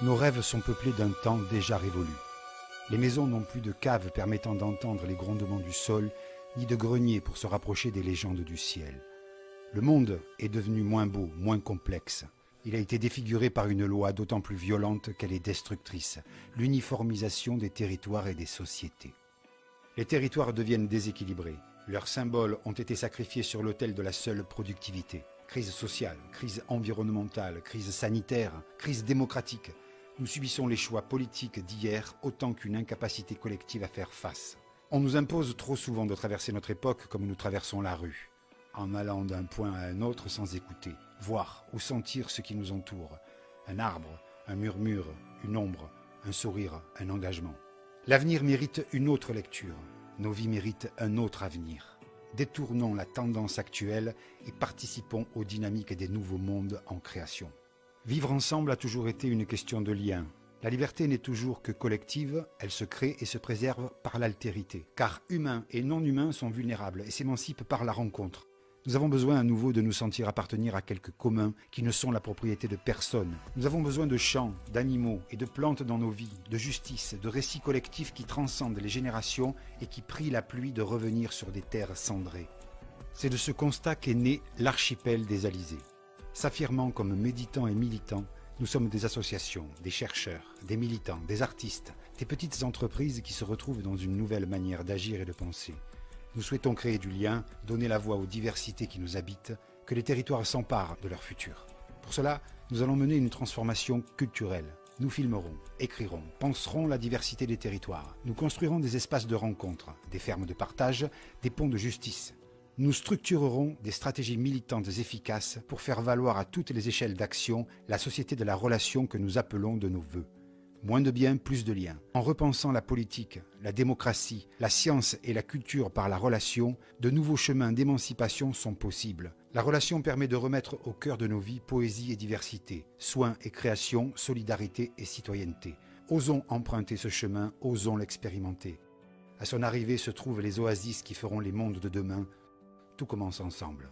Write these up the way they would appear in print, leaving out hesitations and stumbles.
Nos rêves sont peuplés d'un temps déjà révolu. Les maisons n'ont plus de caves permettant d'entendre les grondements du sol, ni de greniers pour se rapprocher des légendes du ciel. Le monde est devenu moins beau, moins complexe. Il a été défiguré par une loi d'autant plus violente qu'elle est destructrice, l'uniformisation des territoires et des sociétés. Les territoires deviennent déséquilibrés. Leurs symboles ont été sacrifiés sur l'autel de la seule productivité. Crise sociale, crise environnementale, crise sanitaire, crise démocratique. Nous subissons les choix politiques d'hier autant qu'une incapacité collective à faire face. On nous impose trop souvent de traverser notre époque comme nous traversons la rue, en allant d'un point à un autre sans écouter, voir ou sentir ce qui nous entoure. Un arbre, un murmure, une ombre, un sourire, un engagement. L'avenir mérite une autre lecture. Nos vies méritent un autre avenir. Détournons la tendance actuelle et participons aux dynamiques des nouveaux mondes en création. Vivre ensemble a toujours été une question de lien. La liberté n'est toujours que collective, elle se crée et se préserve par l'altérité. Car humains et non-humains sont vulnérables et s'émancipent par la rencontre. Nous avons besoin à nouveau de nous sentir appartenir à quelques communs qui ne sont la propriété de personne. Nous avons besoin de champs, d'animaux et de plantes dans nos vies, de justice, de récits collectifs qui transcendent les générations et qui prient la pluie de revenir sur des terres cendrées. C'est de ce constat qu'est né l'archipel des Alizés. S'affirmant comme méditants et militants, nous sommes des associations, des chercheurs, des militants, des artistes, des petites entreprises qui se retrouvent dans une nouvelle manière d'agir et de penser. Nous souhaitons créer du lien, donner la voix aux diversités qui nous habitent, que les territoires s'emparent de leur futur. Pour cela, nous allons mener une transformation culturelle. Nous filmerons, écrirons, penserons la diversité des territoires. Nous construirons des espaces de rencontre, des fermes de partage, des ponts de justice. Nous structurerons des stratégies militantes efficaces pour faire valoir à toutes les échelles d'action la société de la relation que nous appelons de nos vœux. Moins de biens, plus de liens. En repensant la politique, la démocratie, la science et la culture par la relation, de nouveaux chemins d'émancipation sont possibles. La relation permet de remettre au cœur de nos vies poésie et diversité, soins et création, solidarité et citoyenneté. Osons emprunter ce chemin, osons l'expérimenter. À son arrivée se trouvent les oasis qui feront les mondes de demain. Tout commence ensemble.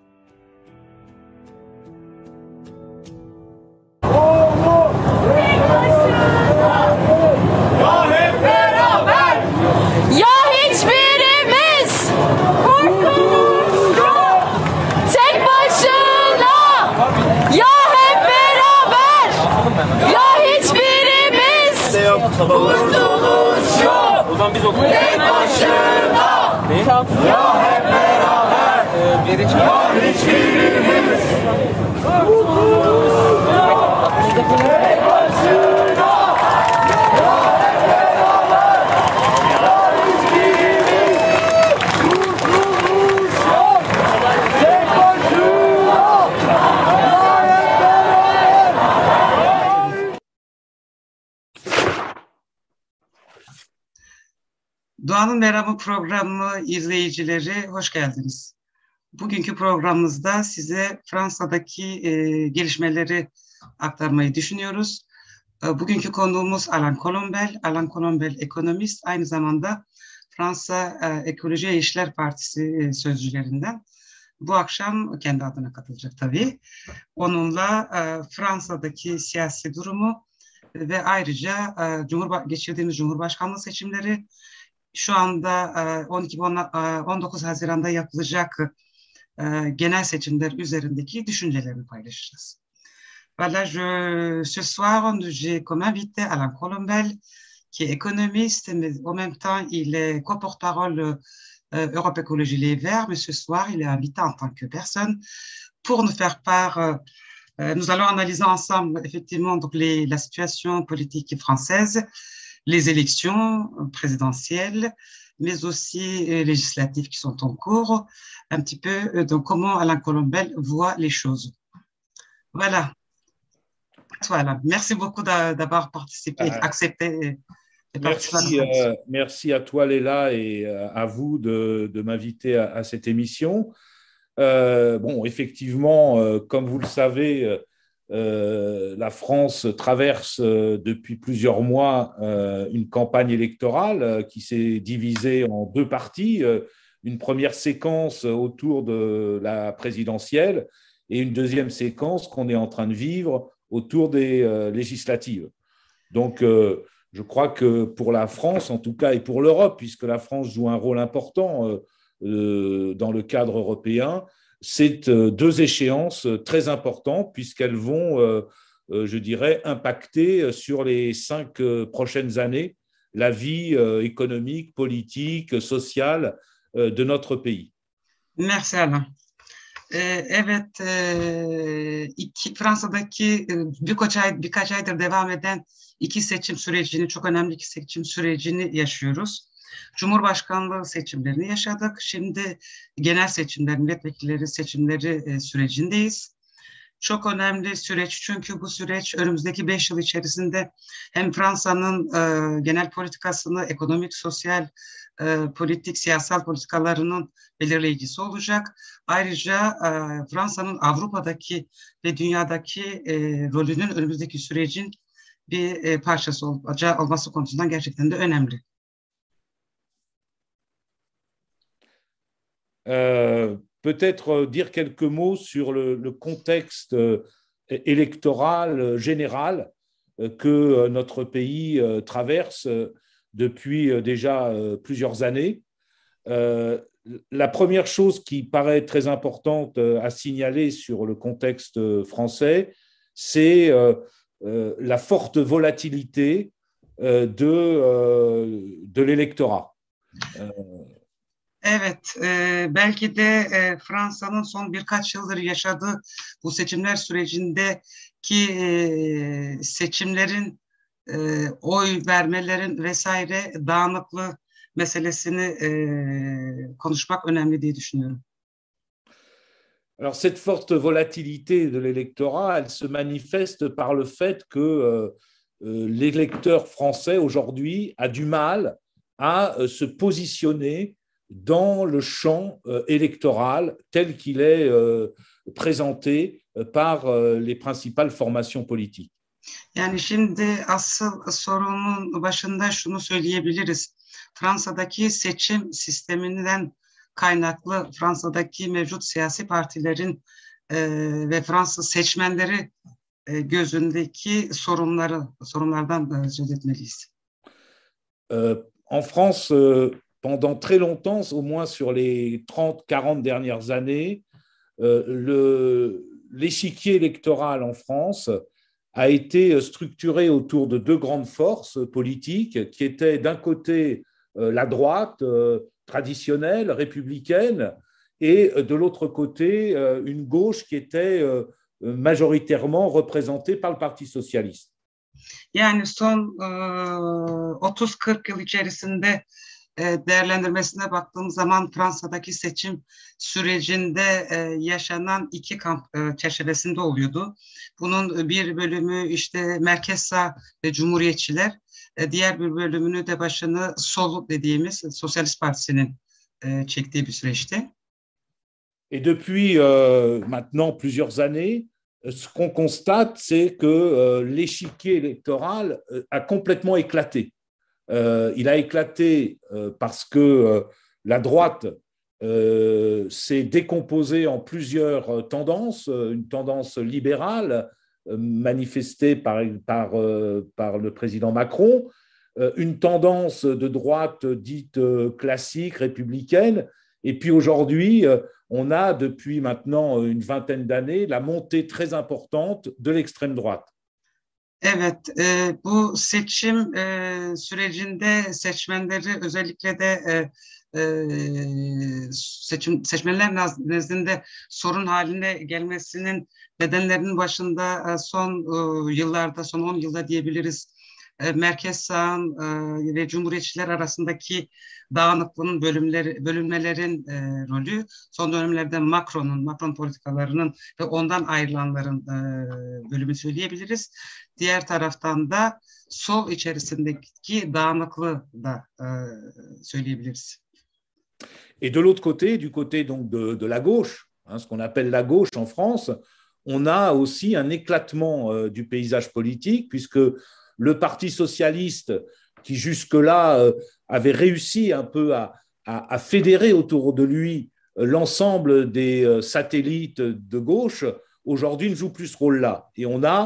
Kurtuluş yok. Tek başına. Ya hep beraber. Ya hiçbirimiz. Kurtuluş yok. Tek başına. Ya hep beraber. Ya hiçbirimiz. Kurtuluş yok. Tek başına. Ya hep beraber. Doğanın Merhamı programı izleyicileri hoş geldiniz. Bugünkü programımızda size Fransa'daki gelişmeleri aktarmayı düşünüyoruz. Bugünkü konuğumuz Alain Colombel. Alain Colombel ekonomist, aynı zamanda Fransa Ekoloji ve İşler Partisi sözcülerinden. Bu akşam kendi adına katılacak tabii. Onunla Fransa'daki siyasi durumu ve ayrıca geçirdiğimiz Cumhurbaşkanlığı seçimleri, şu anda 19 Haziran'da yapılacak genel seçimler üzerindeki düşüncelerini paylaşacağız. Voilà, ce soir, j'ai comme invité Alain Colombel, qui est économiste, mais en même temps, il est co-porte-parole Europe Écologie Les Verts, mais ce soir, il est invité en tant que personne pour nous faire part. Nous allons analyser ensemble, effectivement, donc la situation politique française, les élections présidentielles, mais aussi législatives qui sont en cours, un petit peu donc comment Alain Colombel voit les choses. Voilà. Voilà. Merci beaucoup d'avoir participé, accepté. Merci à toi, Léla, et à vous de m'inviter à cette émission. Bon, effectivement, comme vous le savez, la France traverse depuis plusieurs mois une campagne électorale qui s'est divisée en deux parties. Une première séquence autour de la présidentielle et une deuxième séquence qu'on est en train de vivre autour des législatives. Donc, je crois que pour la France, en tout cas, et pour l'Europe, puisque la France joue un rôle important dans le cadre européen, c'est deux échéances très importantes puisqu'elles vont, je dirais, impacter sur les 5 prochaines années la vie économique, politique, sociale de notre pays. Merci Alain. Evet, Fransa'daki birkaç aydır devam eden iki seçim sürecini, çok önemli iki seçim sürecini yaşıyoruz. Cumhurbaşkanlığı seçimlerini yaşadık. Şimdi genel seçimler, milletvekilleri seçimleri sürecindeyiz. Çok önemli süreç çünkü bu süreç önümüzdeki 5 yıl içerisinde hem Fransa'nın genel politikasını, ekonomik, sosyal, politik, siyasal politikalarının belirleyicisi olacak. Ayrıca Fransa'nın Avrupa'daki ve dünyadaki rolünün önümüzdeki sürecin bir parçası olması konusundan gerçekten de önemli. Peut-être dire quelques mots sur le contexte électoral général que notre pays traverse depuis déjà plusieurs années. La première chose qui paraît très importante à signaler sur le contexte français, c'est la forte volatilité de l'électorat. Evet, belki de Fransa'nın son birkaç yıldır yaşadığı bu seçimler sürecindeki seçimlerin, oy vermelerin vesaire dağınıklığı meselesini konuşmak önemli diye düşünüyorum. Alors, cette forte volatilité de l'électorat, elle se manifeste par le fait que l'électeur français aujourd'hui a du mal à se positionner dans le champ électoral tel qu'il est présenté par les principales formations politiques. Yani şimdi asıl sorunun başında şunu söyleyebiliriz. Fransa'daki seçim sisteminden kaynaklı Fransa'daki mevcut siyasi partilerin ve Fransız seçmenleri gözündeki sorunlardan söz etmeliyiz. En France, pendant très longtemps, au moins sur les 30-40 dernières années, l'échiquier électoral en France a été structuré autour de deux grandes forces politiques qui étaient d'un côté la droite traditionnelle, républicaine, et de l'autre côté une gauche qui était majoritairement représentée par le Parti socialiste. Yani son 30-40 yıl içerisinde değerlendirmesine baktığımız zaman Fransa'daki seçim sürecinde yaşanan iki kamp çerçevesinde oluyordu. Bunun bir bölümü işte merkez sağ ve cumhuriyetçiler, diğer bir bölümünü de başını sol dediğimiz Sosyalist Partisi'nin çektiği bir süreçti. Et depuis maintenant plusieurs années, ce qu'on constate, c'est que l'échiquier électoral a complètement éclaté. Il a éclaté parce que la droite s'est décomposée en plusieurs tendances, une tendance libérale manifestée par le président Macron, une tendance de droite dite classique, républicaine, et puis aujourd'hui, on a depuis maintenant une vingtaine d'années la montée très importante de l'extrême droite. Evet, bu seçim sürecinde seçmenleri özellikle de seçmenler nezdinde sorun haline gelmesinin nedenlerinin başında son yıllarda, son 10 yılda diyebiliriz, merkez sağın ve cumhuriyetçiler arasındaki dağınıklığın, bölünmelerin rolü, son dönemlerde Macron politikalarının ve ondan ayrılanların bölümü söyleyebiliriz. Diğer taraftan da sol içerisindeki dağınıklığı da söyleyebiliriz. Et de l'autre côté, du côté donc de la gauche, ce qu'on appelle la gauche en France, on a aussi un éclatement du paysage politique, puisque le Parti socialiste, qui jusque-là avait réussi un peu à fédérer autour de lui l'ensemble des satellites de gauche, aujourd'hui ne joue plus ce rôle-là. Et on a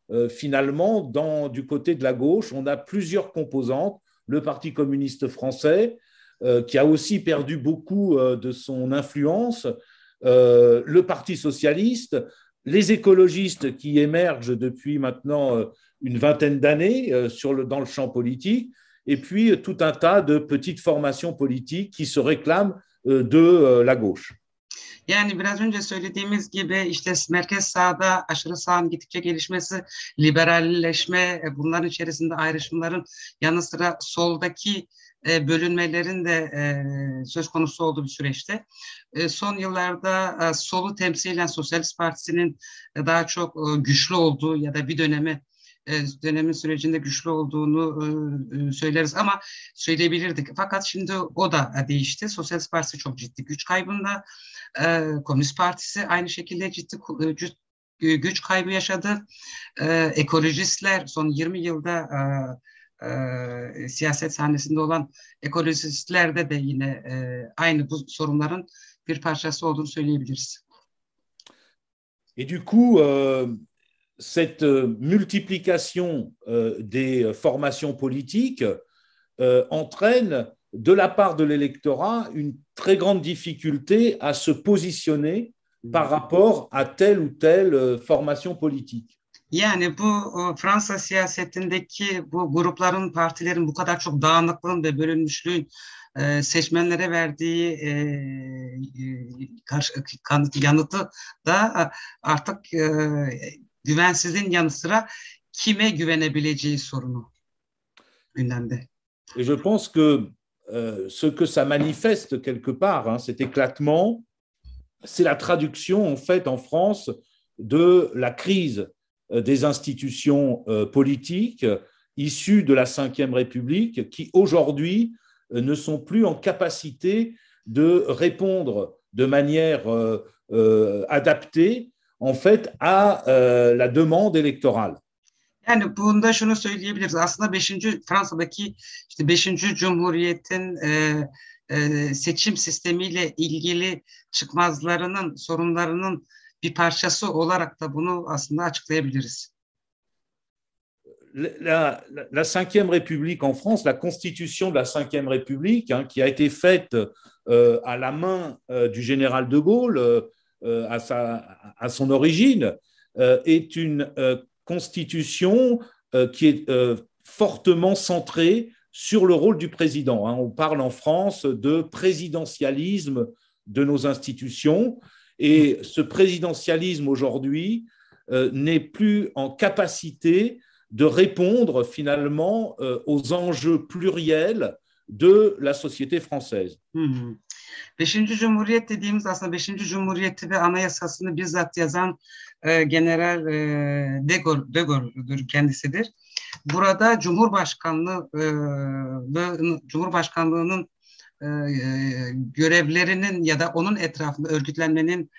finalement, du côté de la gauche, on a plusieurs composantes. Le Parti communiste français, qui a aussi perdu beaucoup de son influence, le Parti socialiste, les écologistes qui émergent depuis maintenant une vingtaine d'années dans le champ politique, et puis tout un tas de petites formations politiques qui se réclament de la gauche. Yani biraz önce söylediğimiz gibi işte merkez sağda aşırı sağın gittikçe gelişmesi, liberalleşme, bunların içerisinde ayrışmaların yanı sıra soldaki bölünmelerin de söz konusu olduğu bir süreçte. Son yıllarda solu temsilen Sosyalist Partisi'nin daha çok güçlü olduğu ya da bir dönemin sürecinde güçlü olduğunu söyleriz ama söyleyebilirdik. Fakat şimdi o da değişti. Sosyalist Partisi çok ciddi güç kaybında. Komünist Partisi aynı şekilde ciddi güç kaybı yaşadı. Ekolojistler son 20 yılda siyaset sahnesinde olan ekolojistlerde de yine aynı bu sorunların bir parçası olduğunu söyleyebiliriz. Et du coup, cette multiplication des formations politiques entraîne de la part de l'électorat une très grande difficulté à se positionner par rapport à telle ou telle formation politique. Yani bu Fransa siyasetindeki bu grupların, partilerin bu kadar çok dağınıklığın ve bölünmüşlüğün seçmenlere verdiği yanıtı da artık güvensizliğin yanı sıra kime güvenebileceği sorunu gündemde. Et je pense que ce que ça manifeste quelque part, cet éclatement, c'est la traduction en fait en France de la crise des institutions politiques issues de la Ve République qui aujourd'hui ne sont plus en capacité de répondre de manière adaptée en fait à la demande électorale. Yani bunda şunu söyleyebiliriz. Aslında Fransa'daki işte 5. Cumhuriyet'in seçim sistemiyle ilgili çıkmazlarının, sorunlarının bir parçası olarak da bunu aslında açıklayabiliriz. La Ve République en France, la constitution de la Ve République, qui a été faite à la main du général de Gaulle à son origine, est une constitution qui est fortement centrée sur le rôle du président. On parle en France de présidentialisme de nos institutions et ce présidentialisme aujourd'hui n'est plus en capacité de répondre finalement aux enjeux pluriels de la société française. 5. Cumhuriyet dediğimiz aslında 5. Cumhuriyeti ve anayasasını bizzat yazan General de Gaulle'dur kendisidir. Burada Cumhurbaşkanlığının görevlerinin ya da onun etrafında örgütlenmenin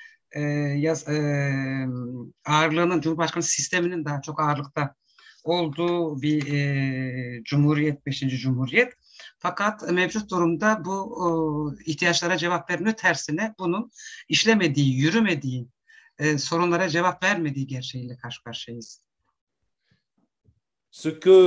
ağırlığının Cumhurbaşkanı sisteminin daha çok ağırlıkta olduğu bir cumhuriyet, 5. Cumhuriyet. Fakat mevcut durumda bu ihtiyaçlara cevap vermiyor. Tersine bunun işlemediği, yürümediği, sorunlara cevap vermediği gerçeğiyle karşı karşıyayız. Ce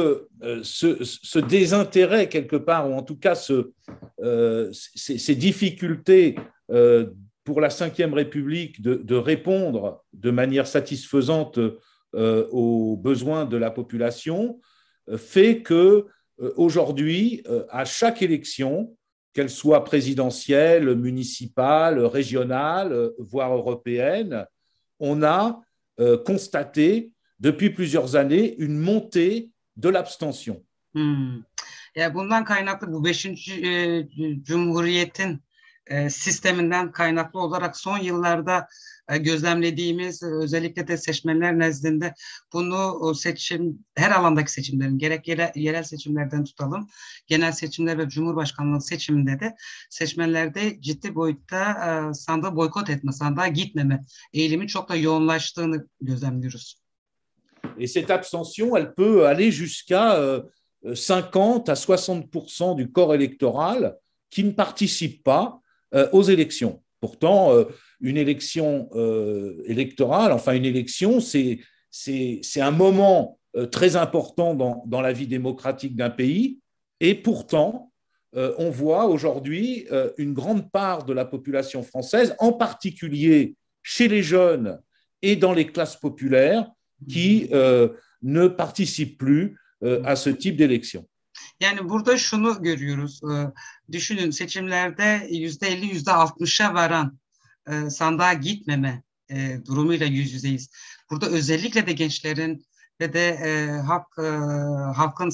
désintérêt quelque part, ou en tout cas ces difficultés pour la Ve République de répondre de manière satisfaisante aux besoins de la population, fait que aujourd'hui, à chaque élection, qu'elle soit présidentielle, municipale, régionale, voire européenne, on a constaté depuis plusieurs années une montée de l'abstention. Yani bundan kaynaklı bu 5. Cumhuriyet'in sisteminden kaynaklı olarak son yıllarda gözlemlediğimiz özellikle de seçmenler nezdinde bunu her alandaki seçimlerin gerek yerel seçimlerden tutalım genel seçimler ve Cumhurbaşkanlığı seçiminde de seçmenlerde ciddi boyutta sandığı boykot etme, sandığa gitmeme eğilimi çok da yoğunlaştığını gözlemliyoruz. Et cette abstention, elle peut aller jusqu'à 50 à 60% du corps électoral qui ne participe pas aux élections. Pourtant, une élection électorale, enfin une élection, c'est c'est un moment très important dans la vie démocratique d'un pays. Et pourtant, on voit aujourd'hui une grande part de la population française, en particulier chez les jeunes et dans les classes populaires, qui ne participent plus à ce type d'élection. Yani burada şunu görüyoruz. Düşünün seçimlerde %50, %60'a varan sandığa gitmeme durumuyla yüz yüzeyiz. Burada özellikle de gençlerin ve de halkın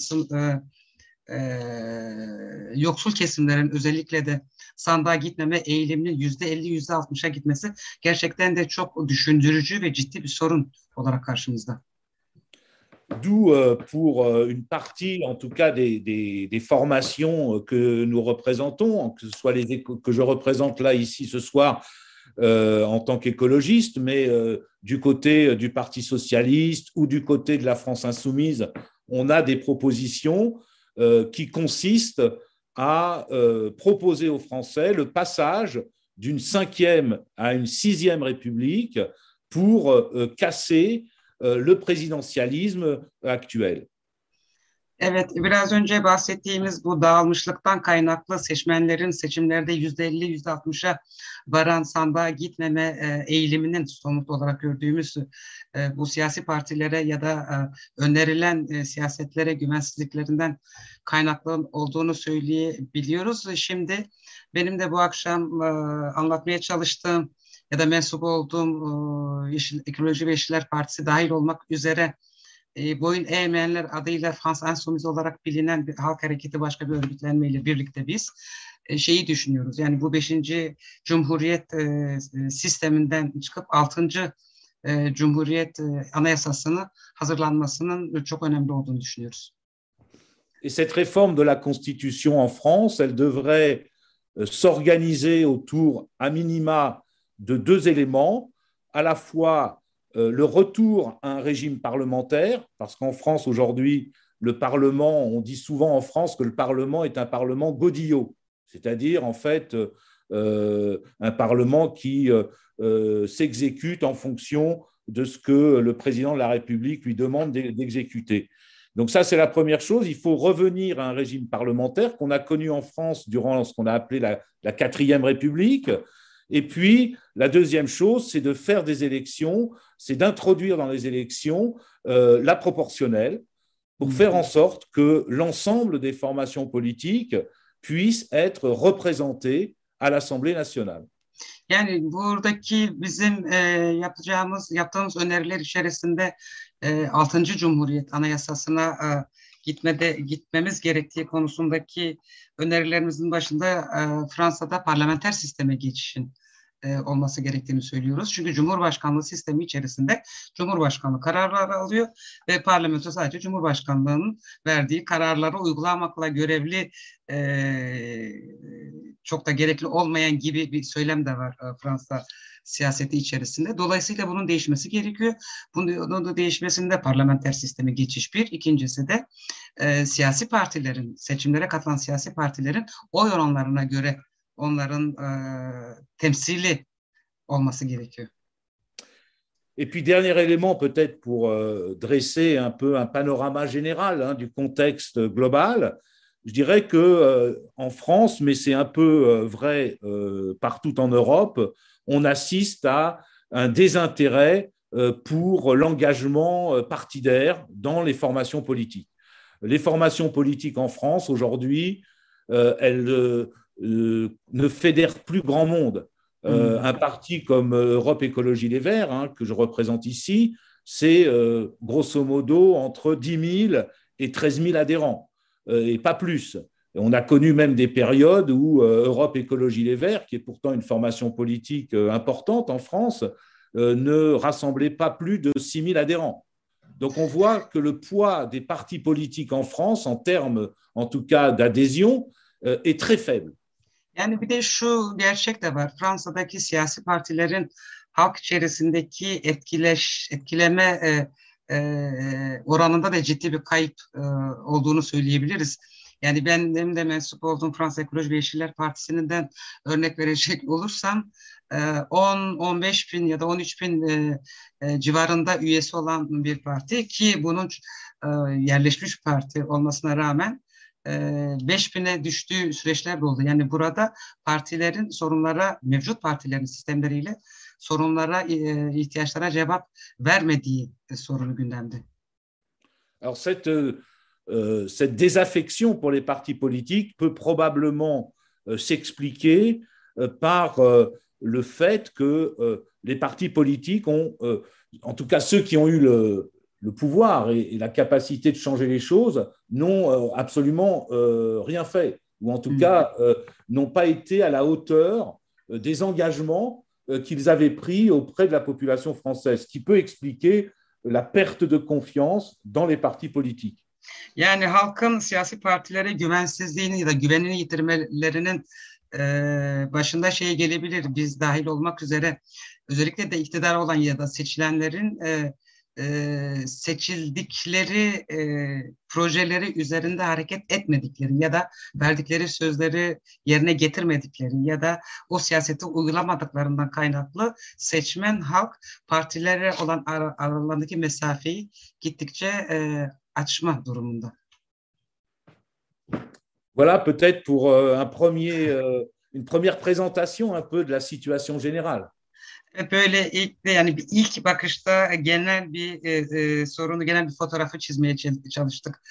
yoksul kesimlerin özellikle de sandığa gitmeme eğiliminin %50, %60'a gitmesi gerçekten de çok düşündürücü ve ciddi bir sorun olarak karşımızda. D'où pour une partie, en tout cas, des formations que nous représentons, que ce soit que je représente là, ici, ce soir, en tant qu'écologiste, mais du côté du Parti socialiste ou du côté de la France insoumise, on a des propositions qui consistent à proposer aux Français le passage d'une 5e à une 6e République pour casser le présidentialisme actuel. Evet, biraz önce bahsettiğimiz bu dağılmışlıktan kaynaklı seçmenlerin seçimlerde %50, %60'a varan sandığa gitmeme eğiliminin somut olarak gördüğümüz bu siyasi partilere ya da önerilen siyasetlere güvensizliklerinden kaynaklı olduğunu söyleyebiliyoruz. Şimdi benim de bu akşam anlatmaya çalıştığım ya da mensup olduğum Ekoloji ve Yeşiller Partisi dahil olmak üzere Boyun Eğmeyenler adıyla Frans Insoumise olarak bilinen bir halk hareketi başka bir örgütlenmeyle birlikte biz şeyi düşünüyoruz. Yani bu 5. Cumhuriyet sisteminden çıkıp 6. Cumhuriyet Anayasası'nın hazırlanmasının çok önemli olduğunu düşünüyoruz. Et cette réforme de la Constitution en France, elle devrait s'organiser autour à minima de 2 éléments, à la fois le retour à un régime parlementaire, parce qu'en France aujourd'hui, le Parlement, on dit souvent en France que le Parlement est un Parlement godillot, c'est-à-dire en fait un Parlement qui s'exécute en fonction de ce que le président de la République lui demande d'exécuter. Donc ça, c'est la première chose. Il faut revenir à un régime parlementaire qu'on a connu en France durant ce qu'on a appelé la 4e République. Et puis, la deuxième chose, c'est de faire des élections, c'est d'introduire dans les élections la proportionnelle pour faire en sorte que l'ensemble des formations politiques puissent être représentées à l'Assemblée nationale. Yani buradaki bizim yaptığımız öneriler içerisinde 6. Cumhuriyet Anayasası'na gitmemiz gerektiği konusundaki önerilerimizin başında Fransa'da parlamenter sisteme geçişin olması gerektiğini söylüyoruz. Çünkü Cumhurbaşkanlığı sistemi içerisinde Cumhurbaşkanlığı kararları alıyor ve parlamento sadece Cumhurbaşkanlığının verdiği kararları uygulamakla görevli, çok da gerekli olmayan gibi bir söylem de var Fransa siyaseti içerisinde. Dolayısıyla bunun değişmesi gerekiyor. Bunun değişmesinde parlamenter sisteme geçiş bir. İkincisi de siyasi partilerin, seçimlere katılan siyasi partilerin oy oranlarına göre onların temsili olması gerekiyor. Et puis, dernier élément peut-être pour dresser un peu un panorama général du contexte global, je dirais qu'en France, mais c'est un peu vrai partout en Europe, on assiste à un désintérêt pour l'engagement partidaire dans les formations politiques. Les formations politiques en France, aujourd'hui, elles ne fédèrent plus grand monde. Un parti comme Europe Écologie Les Verts, que je représente ici, c'est grosso modo entre 10 000 et 13 000 adhérents, et pas plus. On a connu même des périodes où Europe Écologie Les Verts, qui est pourtant une formation politique importante en France, ne rassemblait pas plus de 6 000 adhérents. Donc on voit que le poids des partis politiques en France, en termes en tout cas d'adhésion, est très faible. Yani bir de şu gerçek de var. Fransa'daki siyasi partilerin halk içerisindeki etkileme oranında da ciddi bir kayıp olduğunu söyleyebiliriz. Yani benim de mensup olduğum Fransa Ekoloji ve Yeşiller Partisi'nden örnek verecek olursam 10-15 bin ya da 13 bin civarında üyesi olan bir parti ki bunun yerleşmiş bir parti olmasına rağmen 5 bine düştüğü süreçler de oldu. Yani burada partilerin sorunlara, mevcut partilerin sistemleriyle sorunlara, ihtiyaçlara cevap vermediği sorunu gündemde. Alors cette désaffection pour les partis politiques peut probablement s'expliquer par le fait que les partis politiques ont, en tout cas ceux qui ont eu le pouvoir et la capacité de changer les choses, n'ont absolument rien fait, ou en tout cas n'ont pas été à la hauteur des engagements qu'ils avaient pris auprès de la population française, ce qui peut expliquer la perte de confiance dans les partis politiques. Yani halkın siyasi partilere güvensizliğini ya da güvenini yitirmelerinin başında şey gelebilir, biz dahil olmak üzere özellikle de iktidar olan ya da seçilenlerin seçildikleri projeleri üzerinde hareket etmedikleri ya da verdikleri sözleri yerine getirmedikleri ya da o siyaseti uygulamadıklarından kaynaklı seçmen halk partilere olan aralarındaki mesafeyi gittikçe açma durumunda. Voilà peut-être pour une première présentation un peu de la situation générale. Böyle ilk bakışta genel bir sorunu, genel bir fotoğrafı çizmeye çalıştık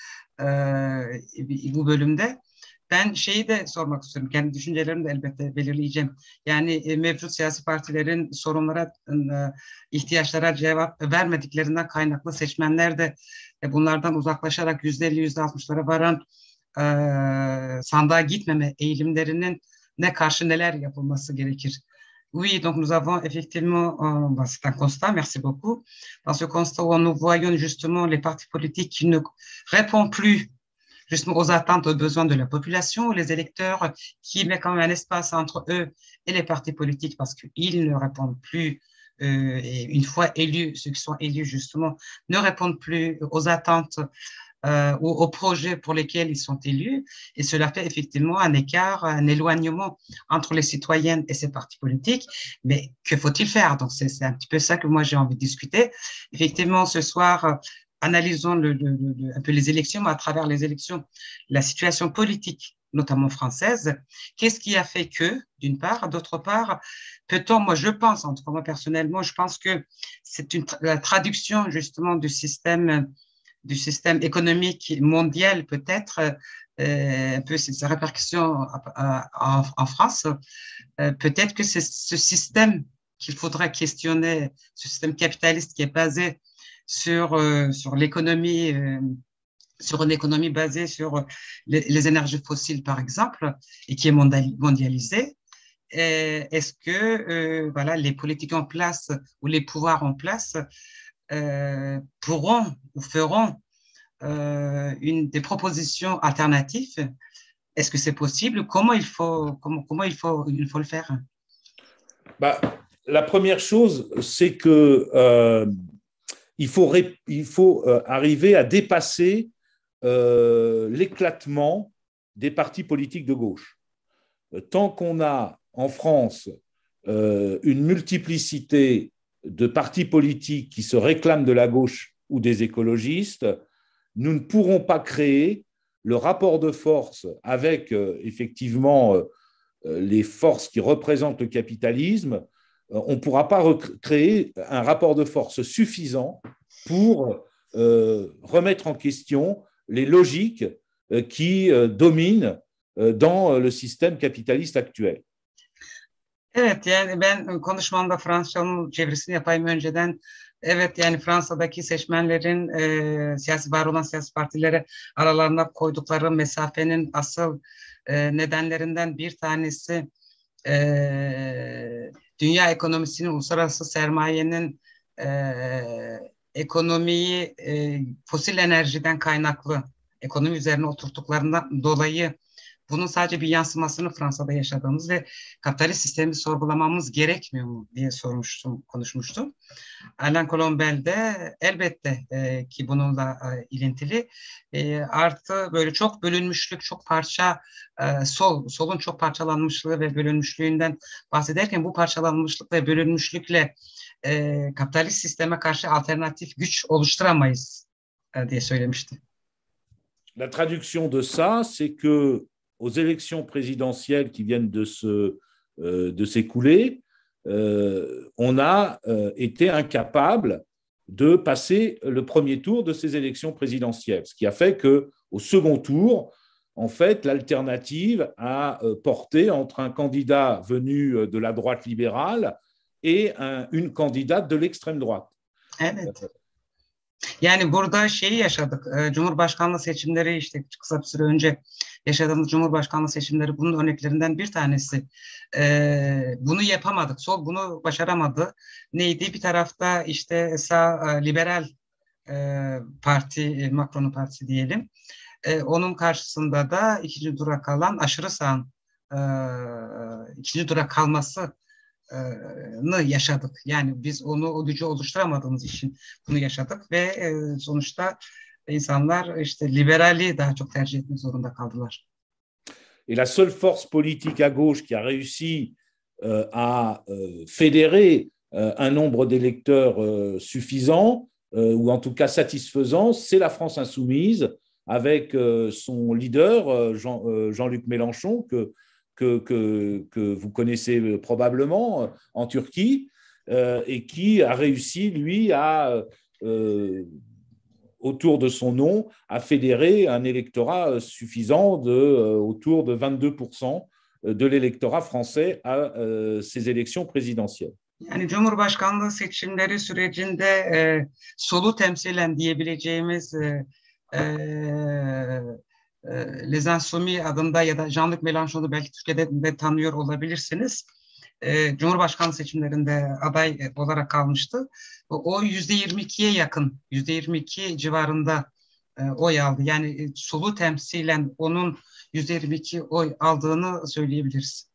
bu bölümde. Ben şeyi de sormak istiyorum. Kendi düşüncelerimi de elbette belirleyeceğim. Yani mevcut siyasi partilerin sorunlara, ihtiyaçlara cevap vermediklerinden kaynaklı seçmenler de bunlardan uzaklaşarak %50, %60'lara varan sandığa gitmeme eğilimlerinin ne karşı neler yapılması gerekir? Oui, donc nous avons effectivement, c'est un constat, merci beaucoup. Dans ce constat où nous voyons justement les partis politiques qui ne répondent plus justement aux attentes, aux besoins de la population, les électeurs qui mettent quand même un espace entre eux et les partis politiques parce qu'ils ne répondent plus, et une fois élus, ceux qui sont élus justement, ne répondent plus aux attentes aux projets pour lesquels ils sont élus, et cela fait effectivement un écart, un éloignement entre les citoyennes et ces partis politiques. Mais que faut-il faire? Donc c'est un petit peu ça que moi j'ai envie de discuter. Effectivement, ce soir, analysons un peu les élections, mais à travers les élections, la situation politique, notamment française. Qu'est-ce qui a fait que, d'une part, d'autre part, peut-on, moi je pense, en tout cas moi personnellement, je pense que c'est la traduction justement du système économique mondial peut-être, un peu ses répercussions en France, peut-être que c'est ce système qu'il faudra questionner, ce système capitaliste qui est basé sur l'économie, sur une économie basée sur les énergies fossiles par exemple, et qui est mondialisée. Est-ce que voilà, les politiques en place ou les pouvoirs en place pourront ou feront des propositions alternatives? Est-ce que c'est possible? Comment il faut le faire? La première chose, c'est que il faut arriver à dépasser l'éclatement des partis politiques de gauche. Tant qu'on a en France une multiplicité de partis politiques qui se réclament de la gauche ou des écologistes, nous ne pourrons pas créer le rapport de force avec effectivement les forces qui représentent le capitalisme. On ne pourra pas créer un rapport de force suffisant pour remettre en question les logiques qui dominent dans le système capitaliste actuel. Evet, yani ben konuşmamda Fransızcanın çevirisini yapayım önceden. Evet, yani Fransa'daki seçmenlerin var olan siyasi partilere aralarına koydukları mesafenin asıl nedenlerinden bir tanesi dünya ekonomisinin, uluslararası sermayenin ekonomiyi fosil enerjiden kaynaklı ekonomi üzerine oturttuklarından dolayı bunun sadece bir yansımasını Fransa'da yaşadığımız ve kapitalist sistemi sorgulamamız gerekmiyor mu diye konuşmuştum. Alain Colombel de elbette ki bununla ilintili. Artı böyle çok bölünmüşlük, çok parça, solun çok parçalanmışlığı ve bölünmüşlüğünden bahsederken bu parçalanmışlık ve bölünmüşlükle kapitalist sisteme karşı alternatif güç oluşturamayız diye söylemişti. La traduction de ça, c'est que aux élections présidentielles qui viennent de s'écouler, on a été incapable de passer le premier tour de ces élections présidentielles, ce qui a fait qu'au second tour, en fait, l'alternative a porté entre un candidat venu de la droite libérale et une candidate de l'extrême droite. Evet. Yani burada şeyi yaşadık. Cumhurbaşkanlığı seçimleri işte kısa bir süre önce yaşadığımız Cumhurbaşkanlığı seçimleri bunun örneklerinden bir tanesi. Bunu yapamadık. Sol bunu başaramadı. Neydi? Bir tarafta işte sağ liberal parti, Macron'un partisi diyelim. Onun karşısında da ikinci tura kalan aşırı sağın ikinci tura kalması yaşadık. Yani biz o gücü oluşturamadığımız için bunu yaşadık ve sonuçta insanlar işte liberali daha çok tercih etmek zorunda kaldılar. Et la seule force politique à gauche qui a réussi à fédérer un nombre d'électeurs suffisant, ou en tout cas satisfaisant, c'est la France insoumise, avec son leader, Jean-Luc Mélenchon, que vous connaissez probablement en Turquie, et qui a réussi, lui, autour de son nom, à fédérer un électorat suffisant autour de 22% de l'électorat français à ces élections présidentielles. Yani Cumhurbaşkanlığı seçimleri sürecinde solu temsilen diyebileceğimiz Les Insoumis adında ya da Jean-Luc Mélenchon'u belki Türkiye'de de tanıyor olabilirsiniz. Cumhurbaşkanlığı seçimlerinde aday olarak kalmıştı. O %22'ye yakın, %22 civarında oy aldı. Yani solu temsilen onun %22 oy aldığını söyleyebiliriz.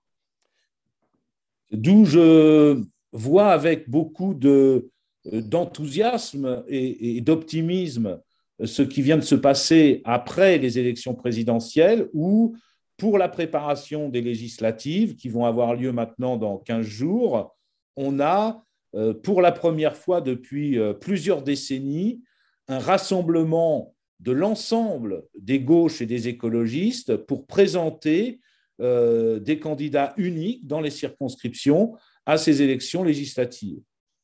D'où je vois avec beaucoup d'enthousiasme et d'optimisme ce qui vient de se passer après les élections présidentielles, où, pour la préparation des législatives qui vont avoir lieu maintenant dans 15 jours, on a, pour la première fois depuis plusieurs décennies, un rassemblement de l'ensemble des gauches et des écologistes pour présenter des candidats uniques dans les circonscriptions à ces élections législatives.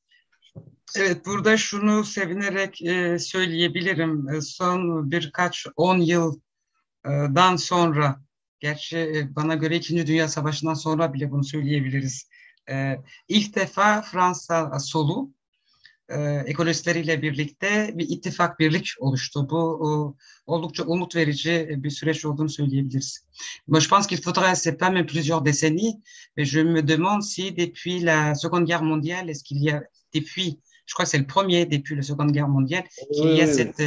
Evet, burada şunu sevinerek söyleyebilirim. Son birkaç 10 yıldan sonra, gerçi bana göre 2. Dünya Savaşı'ndan sonra bile bunu söyleyebiliriz. İlk defa Fransa solu ekolojistleriyle birlikte bir ittifak, birlik oluştu. Bu oldukça umut verici bir süreç olduğunu söyleyebiliriz. Moi, je pense qu'il faudrait, c'est pas même plusieurs décennies, mais je me demande si depuis la Seconde Guerre mondiale, est-ce qu'il y a depuis, je crois que c'est le premier depuis la Seconde Guerre mondiale, qu'il y a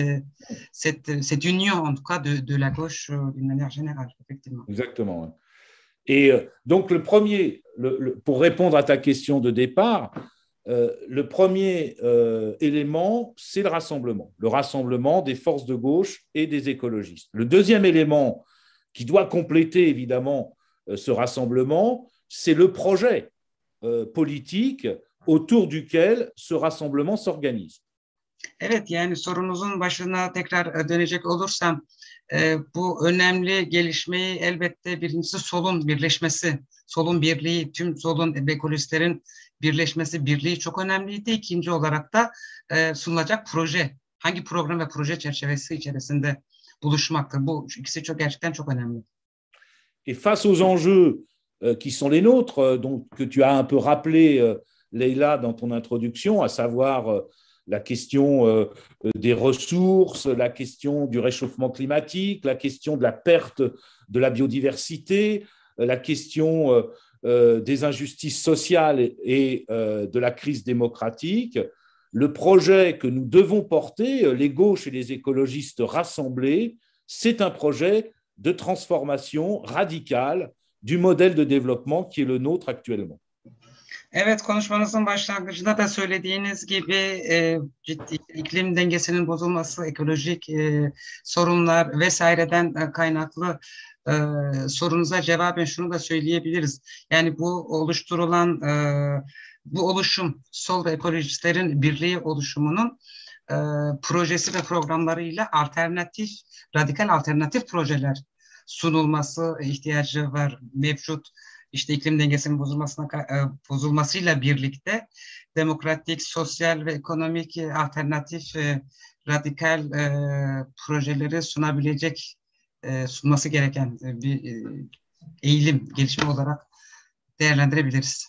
cette union, en tout cas, de la gauche d'une manière générale, effectivement. Exactement. Et donc, le premier, pour répondre à ta question de départ, le premier élément, c'est le rassemblement des forces de gauche et des écologistes. Le deuxième élément qui doit compléter évidemment ce rassemblement, c'est le projet politique autour duquel ce rassemblement s'organise. Evet, yani sorunuzun başına tekrar dönecek olursam bu önemli gelişmeyi elbette birincisi solun birleşmesi, solun birliği, tüm solun ve ekolojistlerin birleşmesi, birliği çok önemliydi. İkinci olarak da sunulacak proje, hangi program ve proje çerçevesi içerisinde buluşmaktır. Bu ikisi gerçekten çok önemli. Et face aux enjeux qui sont les nôtres, donc, que tu as un peu rappelé, Leïla, dans ton introduction, à savoir la question des ressources, la question du réchauffement climatique, la question de la perte de la biodiversité, la question des injustices sociales et de la crise démocratique. Le projet que nous devons porter, les gauches et les écologistes rassemblés, c'est un projet de transformation radicale du modèle de développement qui est le nôtre actuellement. Evet, konuşmanızın başlangıcında da söylediğiniz gibi ciddi iklim dengesinin bozulması, ekolojik sorunlar vesaireden kaynaklı sorunuza cevaben şunu da söyleyebiliriz. Yani bu oluşturulan bu oluşum, sol ve ekolojistlerin birliği oluşumunun projesi ve programlarıyla radikal alternatif projeler sunulması ihtiyacı var. Mevcut işte iklim dengesinin bozulmasıyla birlikte demokratik, sosyal ve ekonomik alternatif radikal projeleri sunması gereken bir eğilim, gelişme olarak değerlendirebiliriz.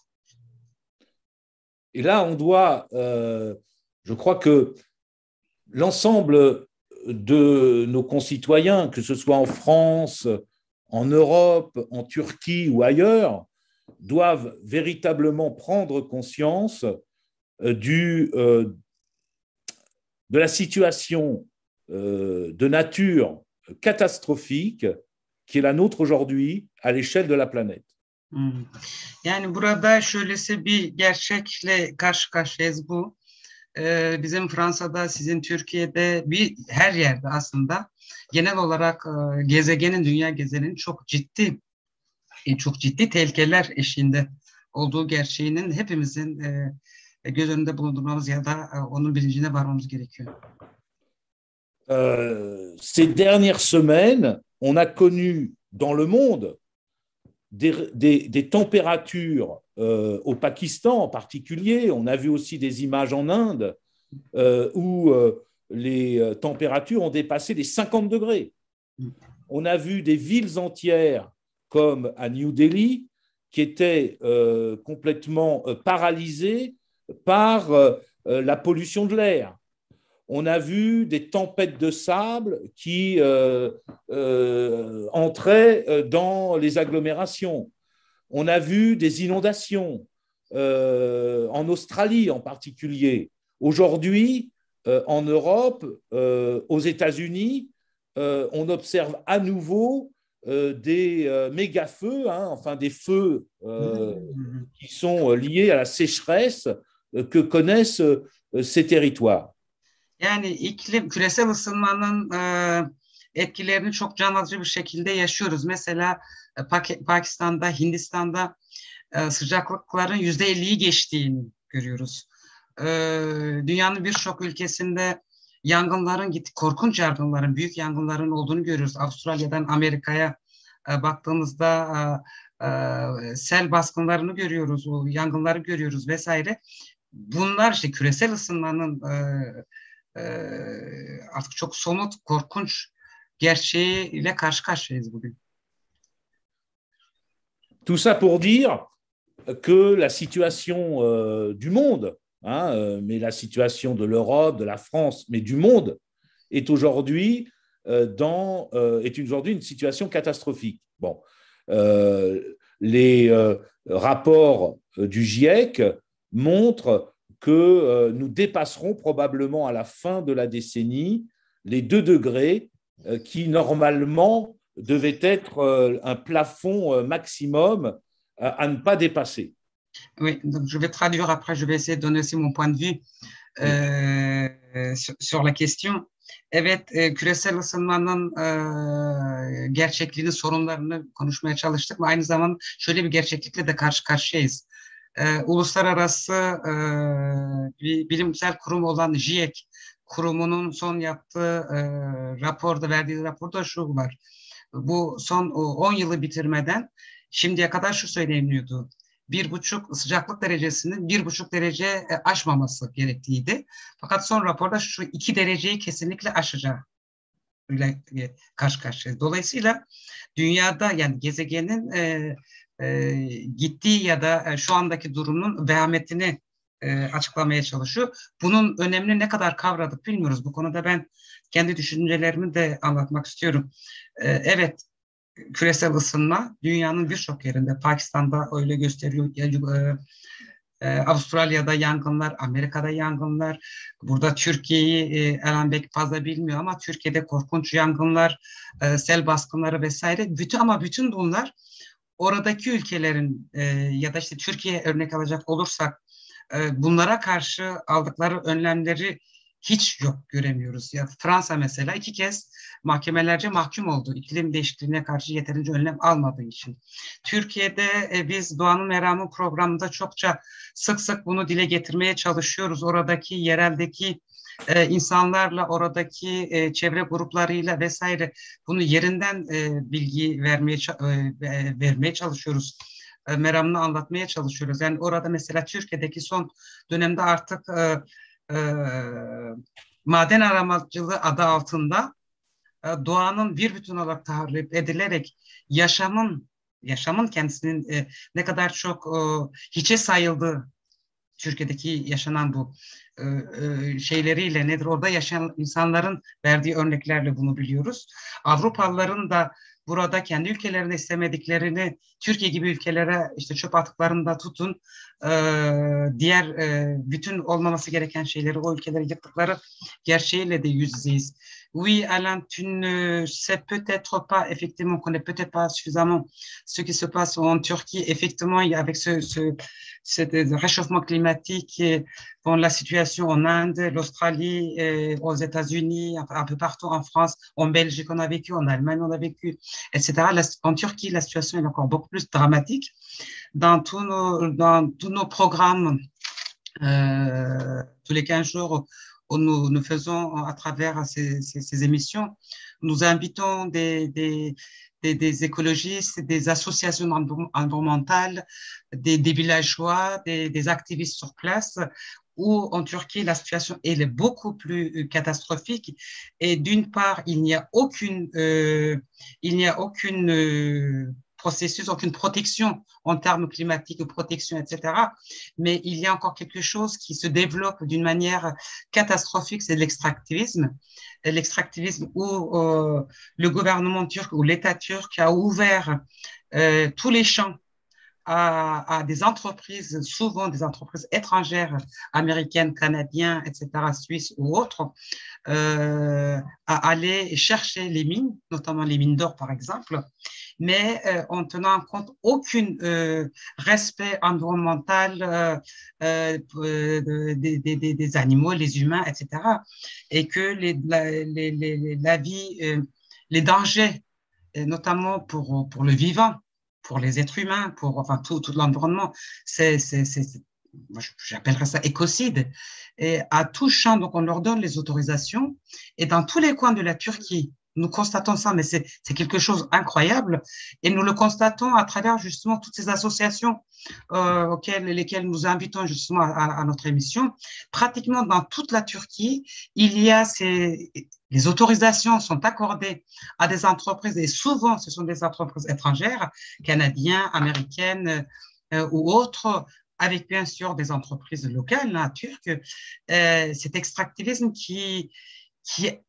Et là, on doit, je crois que l'ensemble de nos concitoyens, que ce soit en France, en Europe, en Turquie ou ailleurs, doivent véritablement prendre conscience de la situation de nature catastrophique qui est la nôtre aujourd'hui à l'échelle de la planète. Yani burada şöylesi bir gerçekle karşı karşıyayız bu. Bizim Fransa'da, sizin Türkiye'de, her yerde aslında genel olarak dünya gezegeninin çok ciddi tehlikeler eşiğinde olduğu gerçeğinin hepimizin göz önünde bulundurmamız ya da onun bilincine varmamız gerekiyor. Ces dernières semaines, on a connu dans le monde des températures au Pakistan en particulier. On a vu aussi des images en Inde où les températures ont dépassé les 50 degrés. On a vu des villes entières comme à New Delhi qui étaient complètement paralysées par la pollution de l'air. On a vu des tempêtes de sable qui entraient dans les agglomérations. On a vu des inondations en Australie en particulier. Aujourd'hui, en Europe, aux États-Unis, on observe à nouveau des méga-feux, enfin des feux qui sont liés à la sécheresse que connaissent ces territoires. Yani küresel ısınmanın etkilerini çok can alıcı bir şekilde yaşıyoruz. Mesela Pakistan'da, Hindistan'da sıcaklıkların %50'yi geçtiğini görüyoruz. Dünyanın birçok ülkesinde korkunç yangınların, büyük yangınların olduğunu görüyoruz. Avustralya'dan Amerika'ya baktığımızda sel baskınlarını görüyoruz, yangınları görüyoruz vesaire. Bunlar işte küresel ısınmanın artık çok somut, korkunç gerçeğiyle karşı karşıyayız bugün. Tout ça pour dire que la situation du monde, mais la situation de l'Europe, de la France, mais du monde, est aujourd'hui une situation catastrophique. Bon, les rapports du GIEC montrent que nous dépasserons probablement à la fin de la décennie les 2 degrés qui normalement devaient être un plafond maximum à ne pas dépasser. Oui, donc je vais traduire après, je vais essayer de donner aussi mon point de vue sur la question. Evet, küresel ısınmanın gerçekliğini, sorunlarını konuşmaya çalıştık ve aynı zamanda şöyle bir gerçeklikle de karşı karşıyayız. Uluslararası bir bilimsel kurum olan GIEC kurumunun son yaptığı verdiği raporda şu var. Bu son 10 yılı bitirmeden şimdiye kadar şu söyleniyordu. 1,5 sıcaklık derecesinin 1,5 derece aşmaması gerektiğiydi. Fakat son raporda şu 2 dereceyi kesinlikle aşacağı ile karşı karşıyayız. Dolayısıyla dünyada, yani gezegenin gittiği ya da şu andaki durumun vehametini açıklamaya çalışıyor. Bunun önemini ne kadar kavradık bilmiyoruz. Bu konuda ben kendi düşüncelerimi de anlatmak istiyorum. Evet, küresel ısınma dünyanın birçok yerinde, Pakistan'da öyle gösteriyor, Avustralya'da yangınlar, Amerika'da yangınlar. Burada Türkiye'yi Eren Bek fazla bilmiyor ama Türkiye'de korkunç yangınlar, sel baskınları vesaire. Bütün bunlar oradaki ülkelerin ya da işte Türkiye örnek alacak olursak bunlara karşı aldıkları önlemleri hiç yok göremiyoruz. Ya Fransa mesela 2 kez mahkemelerce mahkum oldu iklim değişikliğine karşı yeterince önlem almadığı için. Türkiye'de biz Doğanın Meramı programında çokça sık sık bunu dile getirmeye çalışıyoruz. Oradaki yereldeki insanlarla, oradaki çevre gruplarıyla vesaire bunu yerinden bilgi vermeye çalışıyoruz. Meramını anlatmaya çalışıyoruz. Yani orada mesela Türkiye'deki son dönemde artık e, maden aramacılığı adı altında doğanın bir bütün olarak tahrip edilerek yaşamın kendisinin ne kadar çok hiçe sayıldığı Türkiye'deki yaşanan bu şeyleriyle nedir orada yaşayan insanların verdiği örneklerle bunu biliyoruz. Avrupalıların da burada kendi ülkelerinde istemediklerini Türkiye gibi ülkelere işte çöp atıklarında tutun diğer bütün olmaması gereken şeyleri o ülkelere yıktıkları gerçeğiyle de yüz yüzeyiz. Oui, Alain, tu ne sais peut-être pas, effectivement, connais peut-être pas suffisamment ce qui se passe en Turquie. Effectivement, avec ce réchauffement climatique, et, bon, la situation en Inde, l'Australie, aux États-Unis, un peu partout en France, en Belgique, on a vécu, en Allemagne, on a vécu, etc. En Turquie, la situation est encore beaucoup plus dramatique. Dans tous nos programmes, tous les 15 jours, où nous faisons à travers ces émissions, nous invitons des écologistes, des associations environnementales, des villageois, des activistes sur place, où en Turquie, la situation elle est beaucoup plus catastrophique. Et d'une part, il n'y a aucune processus, aucune protection en termes climatiques, protection, etc. Mais il y a encore quelque chose qui se développe d'une manière catastrophique, c'est l'extractivisme. L'extractivisme où le gouvernement turc ou l'État turc a ouvert tous les champs à des entreprises, souvent des entreprises étrangères, américaines, canadiennes, etc., suisses ou autres, à aller chercher les mines, notamment les mines d'or, par exemple, mais en tenant compte aucun respect environnemental des animaux, les humains, etc., et que la vie, les dangers, notamment pour le vivant, pour les êtres humains, pour enfin, tout l'environnement, j'appellerais ça écocide. Et à tout champ, donc on leur donne les autorisations. Et dans tous les coins de la Turquie, nous constatons ça, mais c'est quelque chose d'incroyable. Et nous le constatons à travers justement toutes ces associations lesquelles nous invitons justement à notre émission. Pratiquement dans toute la Turquie, il y a les autorisations sont accordées à des entreprises, et souvent ce sont des entreprises étrangères, canadiennes, américaines ou autres, avec bien sûr des entreprises locales, turques. Cet extractivisme qui est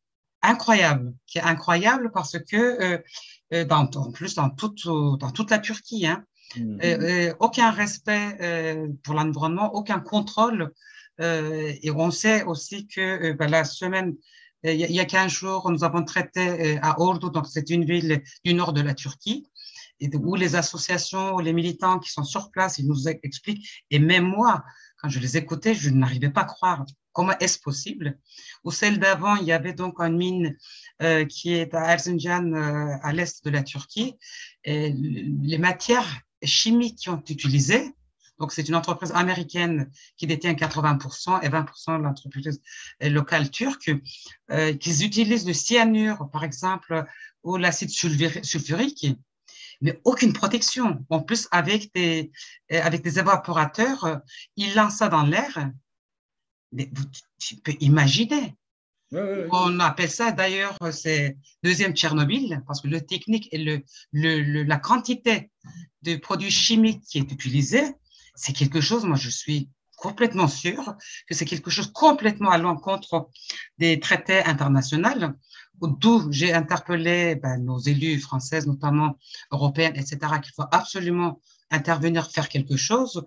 incroyable parce que en plus dans toute la Turquie, aucun respect pour l'environnement, aucun contrôle, et on sait aussi que la semaine il y a 15 jours, nous avons traité à Ordu, donc c'est une ville du nord de la Turquie, où les associations, les militants qui sont sur place, ils nous expliquent, et même moi, quand je les écoutais, je n'arrivais pas à croire comment est-ce possible. Ou celle d'avant, il y avait donc une mine qui est à Erzincan, à l'est de la Turquie, et les matières chimiques qui ont utilisées. Donc, c'est une entreprise américaine qui détient 80% et 20% de l'entreprise locale turque, qui utilisent le cyanure, par exemple, ou l'acide sulfurique, mais aucune protection. En plus, avec des évaporateurs, ils lancent ça dans l'air. Mais tu peux imaginer. On appelle ça d'ailleurs, c'est deuxième Tchernobyl, parce que le technique et la quantité de produits chimiques qui est utilisée, c'est quelque chose, moi je suis complètement sûr que c'est quelque chose complètement à l'encontre des traités internationaux, d'où j'ai interpellé nos élus françaises, notamment européennes, etc., qu'il faut absolument intervenir, faire quelque chose,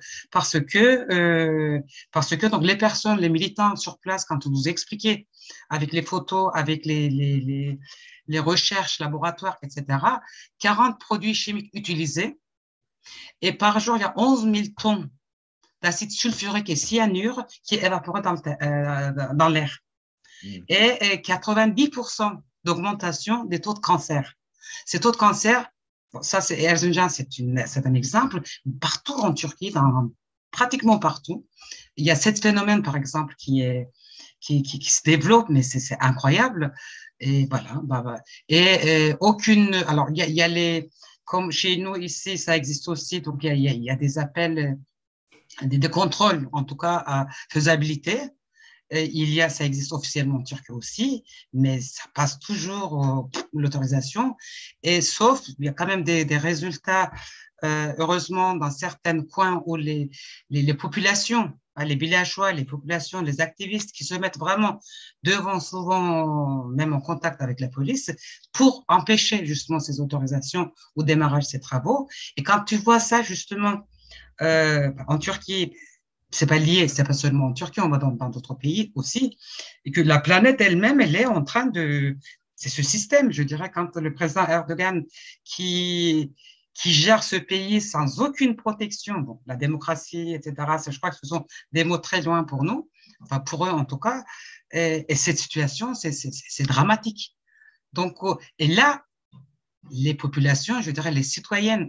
parce que donc les personnes, les militants sur place, quand vous expliquez avec les photos, avec les recherches, laboratoires, etc., 40 produits chimiques utilisés, et par jour, il y a 11 000 tonnes d'acide sulfurique et cyanure qui est évaporé dans l'air. Et 90% d'augmentation des taux de cancer. Ces taux de cancer, ça c'est Erzincan, c'est un exemple, partout en Turquie, pratiquement partout, il y a ce phénomène par exemple qui se développe, mais c'est incroyable. Et voilà, et aucune, alors il y a les, comme chez nous ici, ça existe aussi, donc il y a des appels, des contrôles, en tout cas à faisabilité. Ça existe officiellement en Turquie aussi, mais ça passe toujours l'autorisation. Et sauf, il y a quand même des résultats, heureusement, dans certains coins où les populations, les villageois, les populations, les activistes qui se mettent vraiment devant, souvent même en contact avec la police, pour empêcher justement ces autorisations ou démarrage de ces travaux. Et quand tu vois ça justement en Turquie, c'est pas lié, c'est pas seulement en Turquie, on va dans d'autres pays aussi, et que la planète elle-même, elle est en train de, c'est ce système, je dirais, quand le président Erdogan qui gère ce pays sans aucune protection, bon, la démocratie, etc., je crois que ce sont des mots très loin pour nous, enfin pour eux en tout cas, et cette situation, c'est dramatique. Donc, et là, les populations, je dirais les citoyennes,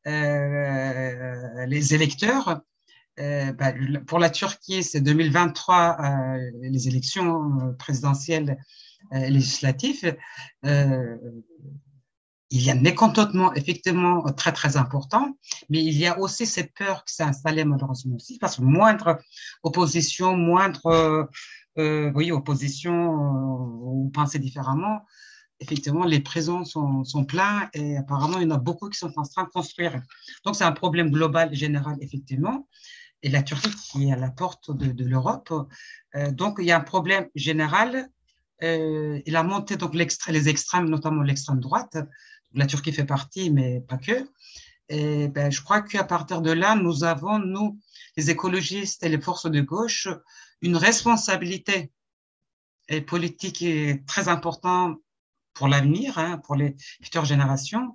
les électeurs, pour la Turquie, c'est 2023, les élections présidentielles législatives. Il y a un mécontentement effectivement très, très important, mais il y a aussi cette peur qui s'est installée malheureusement aussi, parce que moindre opposition, opposition ou penser différemment, effectivement, les prisons sont pleines et apparemment, il y en a beaucoup qui sont en train de construire. Donc, c'est un problème global, général, effectivement. Et la Turquie qui est à la porte de l'Europe. Donc, il y a un problème général. Et la montée, donc les extrêmes, notamment l'extrême droite, la Turquie fait partie, mais pas que. Et je crois qu'à partir de là, nous avons, nous, les écologistes et les forces de gauche, une responsabilité politique très importante pour l'avenir, pour les futures générations.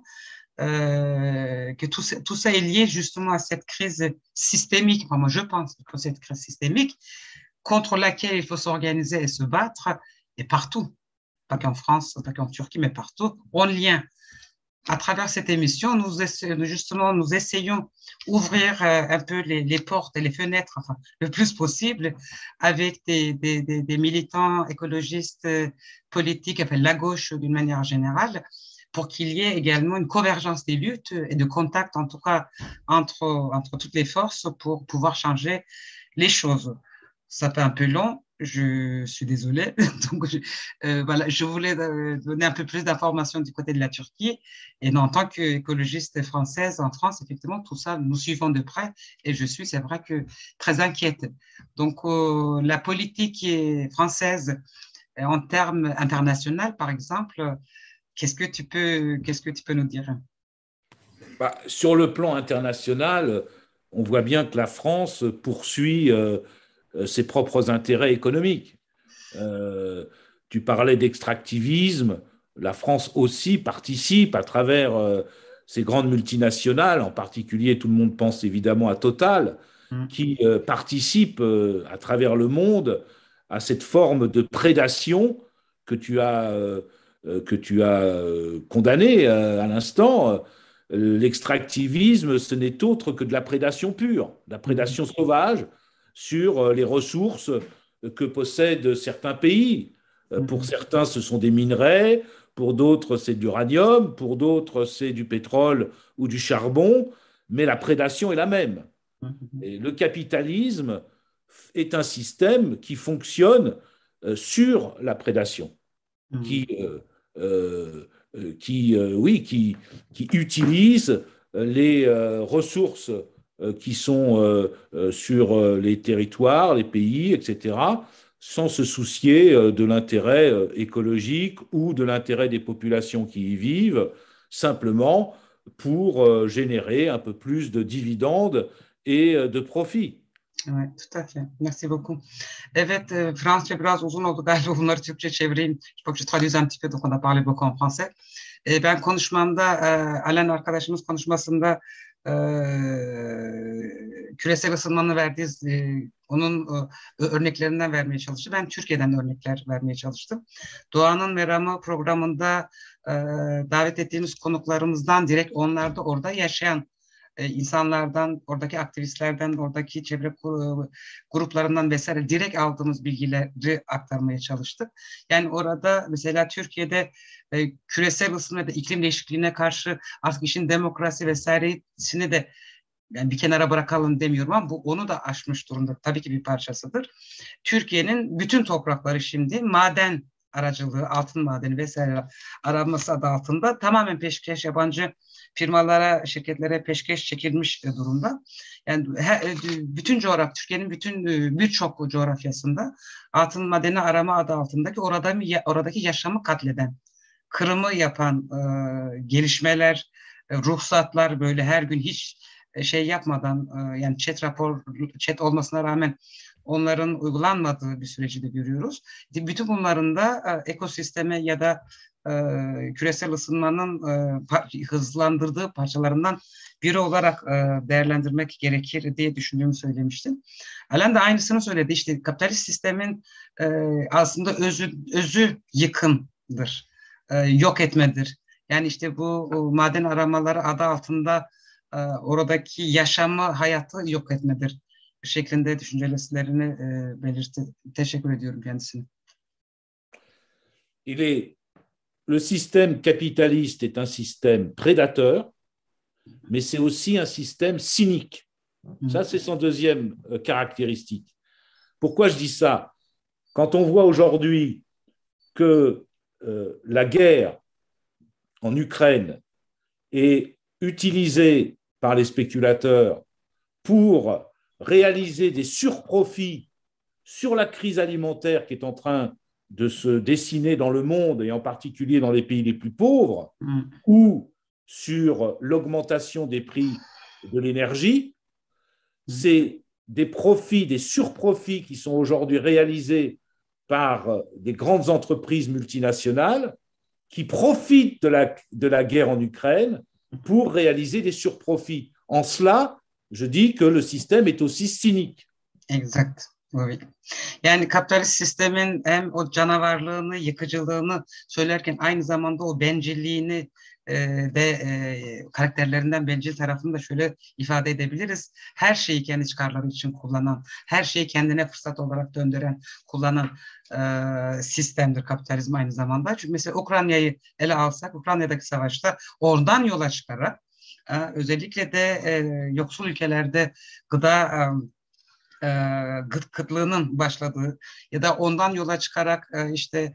Que tout ça est lié justement à cette crise systémique. Enfin, moi, je pense que cette crise systémique contre laquelle il faut s'organiser et se battre, et partout, pas qu'en France, pas qu'en Turquie, mais partout, en lien. À travers cette émission, nous essayons d'ouvrir un peu les portes et les fenêtres, enfin, le plus possible, avec des militants écologistes politiques, enfin, la gauche d'une manière générale, pour qu'il y ait également une convergence des luttes et de contact, en tout cas, entre toutes les forces pour pouvoir changer les choses. Ça fait un peu long, je suis désolée. Donc, voilà, je voulais donner un peu plus d'informations du côté de la Turquie. Et en tant qu'écologiste française en France, effectivement, tout ça, nous suivons de près. Et je suis, c'est vrai que très inquiète. Donc, la politique française, en termes internationaux, par exemple, qu'est-ce que tu peux nous dire? Sur le plan international, on voit bien que la France poursuit ses propres intérêts économiques. Tu parlais d'extractivisme. La France aussi participe à travers ces grandes multinationales, en particulier, tout le monde pense évidemment à Total, qui participe à travers le monde à cette forme de prédation que tu as condamnée à l'instant. L'extractivisme, ce n'est autre que de la prédation pure, de la prédation sauvage sur les ressources que possèdent certains pays. Pour certains, ce sont des minerais, pour d'autres, c'est de l'uranium, pour d'autres, c'est du pétrole ou du charbon, mais la prédation est la même. Et le capitalisme est un système qui fonctionne sur la prédation, qui, qui utilise les ressources qui sont sur les territoires, les pays, etc., sans se soucier de l'intérêt écologique ou de l'intérêt des populations qui y vivent, simplement pour générer un peu plus de dividendes et de profits. Evet, tout à fait. Merci beaucoup. Evet, Fransızca biraz uzun oldu galiba, bunları Türkçe çevireyim. Je crois que je traduis un petit peu, donc on a parlé beaucoup en français. Ben konuşmamda, Alain arkadaşımız konuşmasında küresel ısınmanın verdiği, onun örneklerinden vermeye çalıştı. Ben Türkiye'den örnekler vermeye çalıştım. Doğanın Meramı programında davet ettiğimiz konuklarımızdan direkt onlar da orada yaşayan insanlardan, oradaki aktivistlerden, oradaki çevre gruplarından vesaire direkt aldığımız bilgileri aktarmaya çalıştık. Yani orada mesela Türkiye'de küresel ısınma ya da iklim değişikliğine karşı artık işin demokrasi vesairesini de yani bir kenara bırakalım demiyorum ama bu onu da aşmış durumda. Tabii ki bir parçasıdır. Türkiye'nin bütün toprakları şimdi maden aracılığı, altın madeni vesaire aranması adı altında tamamen peşkeş, yabancı firmalara, şirketlere peşkeş çekilmiş durumda. Yani bütün coğrafya, Türkiye'nin bütün birçok coğrafyasında altın madeni arama adı altındaki oradaki yaşamı katleden, kırımı yapan gelişmeler, ruhsatlar böyle her gün hiç şey yapmadan yani chat olmasına rağmen onların uygulanmadığı bir süreci de görüyoruz. Bütün bunların da ekosisteme ya da küresel ısınmanın hızlandırdığı parçalarından biri olarak değerlendirmek gerekir diye düşündüğümü söylemiştim. Alain de aynısını söyledi. İşte kapitalist sistemin aslında özü yıkımdır, yok etmedir. Yani işte bu maden aramaları adı altında oradaki yaşamı, hayatı yok etmedir şeklinde düşüncelerini belirtti. Teşekkür ediyorum kendisine. Le système capitaliste est un système prédateur, mais c'est aussi un système cynique. Ça, c'est son deuxième caractéristique. Pourquoi je dis ça? Quand on voit aujourd'hui que la guerre en Ukraine est utilisée par les spéculateurs pour réaliser des surprofits sur la crise alimentaire qui est en train de se dessiner dans le monde et en particulier dans les pays les plus pauvres, ou sur l'augmentation des prix de l'énergie, c'est des profits, des surprofits qui sont aujourd'hui réalisés par des grandes entreprises multinationales qui profitent de la guerre en Ukraine pour réaliser des surprofits. En cela, je dis que le système est aussi cynique. Exact. Evet. Yani kapitalist sistemin hem o canavarlığını, yıkıcılığını söylerken aynı zamanda o bencilliğini karakterlerinden bencil tarafını da şöyle ifade edebiliriz. Her şeyi kendi çıkarları için kullanan, her şeyi kendine fırsat olarak döndüren, kullanan sistemdir kapitalizm aynı zamanda. Çünkü mesela Ukrayna'yı ele alsak, Ukrayna'daki savaşta oradan yola çıkarak özellikle de yoksul ülkelerde gıda kıtlığının başladığı ya da ondan yola çıkarak işte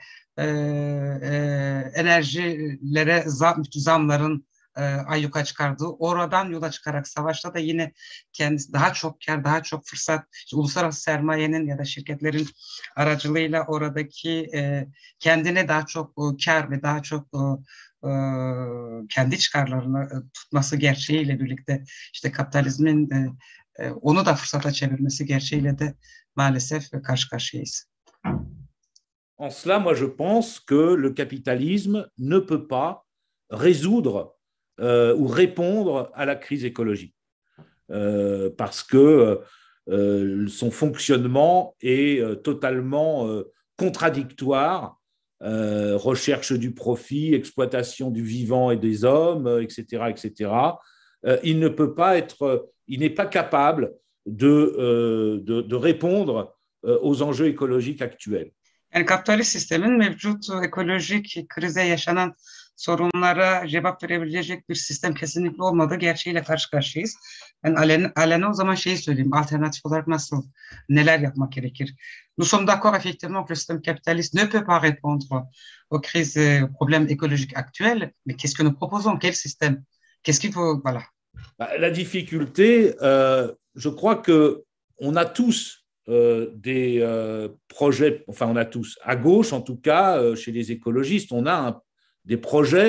enerjilere zamların ayyuka çıkardığı, oradan yola çıkarak savaşta da yine kendisi daha çok kar, daha çok fırsat, işte uluslararası sermayenin ya da şirketlerin aracılığıyla oradaki kendine daha çok kar ve daha çok kendi çıkarlarını tutması gerçeğiyle birlikte işte kapitalizmin onu da fırsata çevirmesi gerçeğiyle de maalesef karşı karşıyayız. En cela, moi, je pense que le capitalisme ne peut pas résoudre ou répondre à la crise écologique parce que son fonctionnement est totalement contradictoire. Recherche du profit, exploitation du vivant et des hommes, etc., etc. Il ne peut pas être, il n'est pas capable de répondre aux enjeux écologiques actuels. Yani kapitalist sistemin mevcut ekolojik krize yaşanan sorunlara cevap verebilecek bir sistem kesinlikle olmadığı gerçeğiyle karşı karşıyayız. Ben Alain'e o zaman şeyi söyleyeyim, alternatif olarak neler yapmak gerekir? Nous sommes d'accord effectivement que le système capitaliste ne peut pas répondre aux crises, aux problèmes écologiques actuels, mais qu'est-ce que nous proposons? Quel système? Qu'est-ce qu'il faut? Voilà. La difficulté, je crois que on a tous des projets, enfin on a tous, à gauche en tout cas, chez les écologistes, on a des projets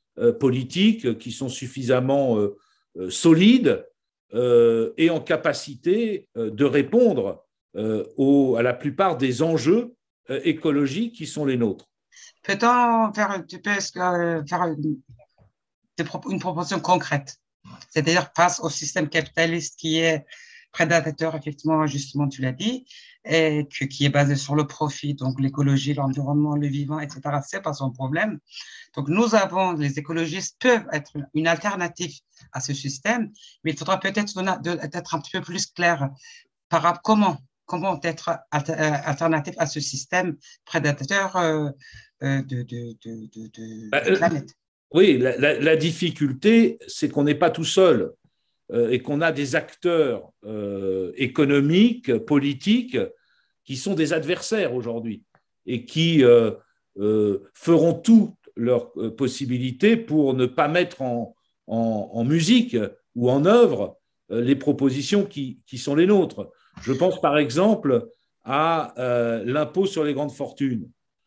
politiques qui sont suffisamment solides et en capacité de répondre à la plupart des enjeux écologiques qui sont les nôtres. Peut-on faire un petit peu faire une proposition concrète, c'est-à-dire face au système capitaliste qui est prédateur, effectivement, justement, tu l'as dit, et qui est basé sur le profit, donc l'écologie, l'environnement, le vivant, etc., c'est pas son problème. Donc, les écologistes peuvent être une alternative à ce système, mais il faudra peut-être être un petit peu plus clair par rapport comment être alternatif à ce système prédateur de planète. Oui, la difficulté, c'est qu'on n'est pas tout seul et qu'on a des acteurs économiques, politiques, qui sont des adversaires aujourd'hui et qui feront toutes leurs possibilités pour ne pas mettre en musique ou en œuvre les propositions qui sont les nôtres. Je pense par exemple à l'impôt sur les grandes fortunes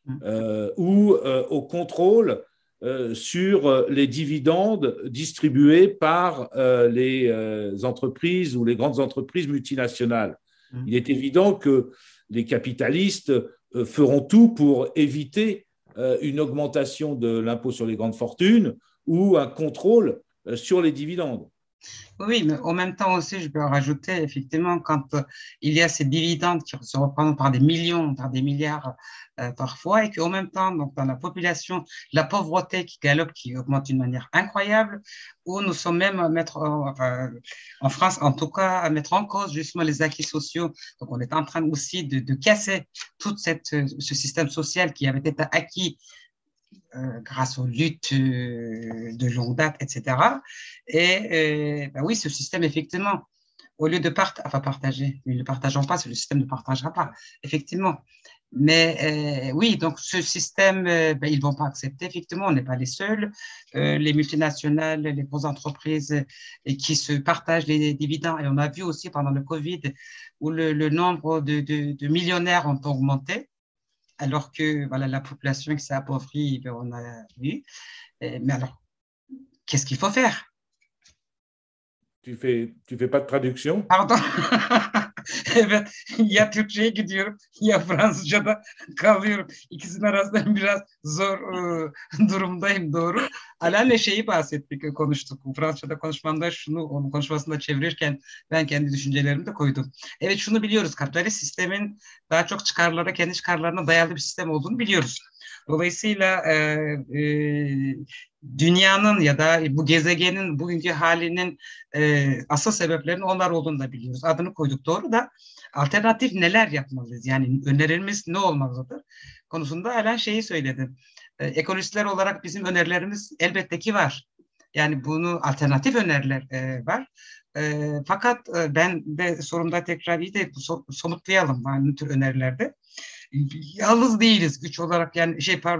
ou au contrôle sur les dividendes distribués par les entreprises ou les grandes entreprises multinationales. Il est évident que les capitalistes feront tout pour éviter une augmentation de l'impôt sur les grandes fortunes ou un contrôle sur les dividendes. Oui, mais en même temps aussi, je peux rajouter, effectivement, quand il y a ces dividendes qui se représentent par des millions, par des milliards parfois, et qu'en même temps, donc, dans la population, la pauvreté qui galope, qui augmente d'une manière incroyable, où nous sommes même à mettre, en France en tout cas, à mettre en cause justement les acquis sociaux. Donc, on est en train aussi de casser tout ce système social qui avait été acquis grâce aux luttes de longue date, etc. Et ben oui, ce système, effectivement, au lieu de partager, ne le partageons pas, le système ne partagera pas, effectivement. Mais oui, donc ce système, ben, ils ne vont pas accepter, effectivement, on n'est pas les seuls. Les multinationales, les grosses entreprises qui se partagent les dividendes, et on a vu aussi pendant le Covid où le nombre de millionnaires ont augmenté, alors que voilà, la population qui s'est appauvrie, ben, on a vu. Mais alors, qu'est-ce qu'il faut faire? Tu fais pas de traduction? Pardon. Evet, ya Türkçe'ye gidiyorum ya Fransızca'da kalıyorum. İkisinin arasında biraz zor durumdayım, doğru. Alan'la şeyi bahsettik, konuştuk. Fransızca'da konuşmamda onun konuşmasında çevirirken ben kendi düşüncelerimi de koydum. Evet, şunu biliyoruz, kapitalist sistemin daha çok çıkarlara, kendi çıkarlarına dayalı bir sistem olduğunu biliyoruz. Dolayısıyla dünyanın ya da bu gezegenin bugünkü halinin asıl sebeplerinin onlar olduğunu da biliyoruz. Adını koyduk, doğru da alternatif neler yapmalıyız? Yani önerimiz ne olmalıdır? Konusunda Alan şeyi söyledi. Ekolojistler olarak bizim önerilerimiz elbette ki var. Yani bunu alternatif öneriler var. Fakat ben de sorumda tekrar iyi de somutlayalım yani bu tür önerilerde. Yalnız değiliz güç olarak, yani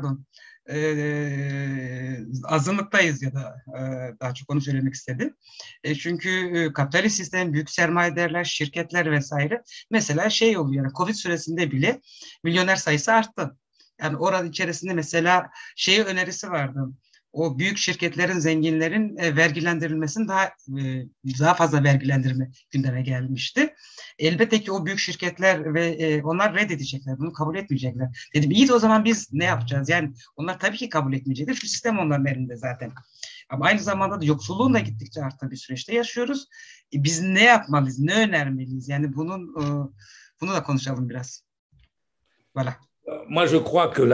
azınlıktayız ya da daha çok onu söylemek istedim. Çünkü kapitalist sistem, büyük sermayedarlar, şirketler vesaire, mesela şey oluyor, yani Covid süresinde bile milyoner sayısı arttı. Yani oranın içerisinde mesela önerisi vardı. O büyük şirketlerin, zenginlerin vergilendirilmesinin daha fazla vergilendirme gündeme gelmişti. Elbette ki o büyük şirketler ve onlar reddedecekler, bunu kabul etmeyecekler. Dedim iyi de o zaman biz ne yapacağız? Yani onlar tabii ki kabul etmeyecekler. Şu sistem onların elinde zaten. Ama aynı zamanda da yoksulluğun da gittikçe arttığı bir süreçte yaşıyoruz. Biz ne yapmalıyız, ne önermeliyiz? Yani bunu da konuşalım biraz. Voilà. Moi, je crois que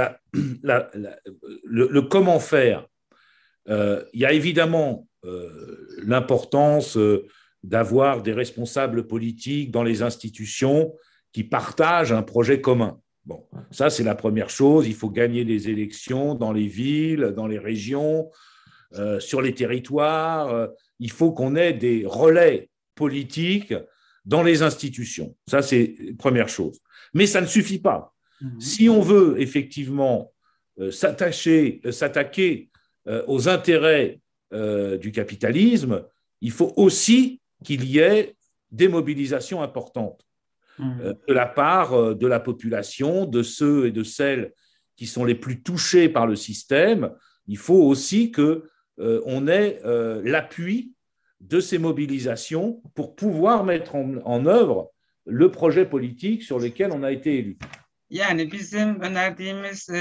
le comment faire, il y a évidemment l'importance d'avoir des responsables politiques dans les institutions qui partagent un projet commun. Bon, ça, c'est la première chose. Il faut gagner les élections dans les villes, dans les régions, sur les territoires. Il faut qu'on ait des relais politiques dans les institutions. Ça, c'est la première chose. Mais ça ne suffit pas. Si on veut effectivement s'attaquer aux intérêts du capitalisme, il faut aussi qu'il y ait des mobilisations importantes de la part de la population, de ceux et de celles qui sont les plus touchés par le système. Il faut aussi que on ait l'appui de ces mobilisations pour pouvoir mettre en œuvre le projet politique sur lequel on a été élu. Yani bizim önerdiğimiz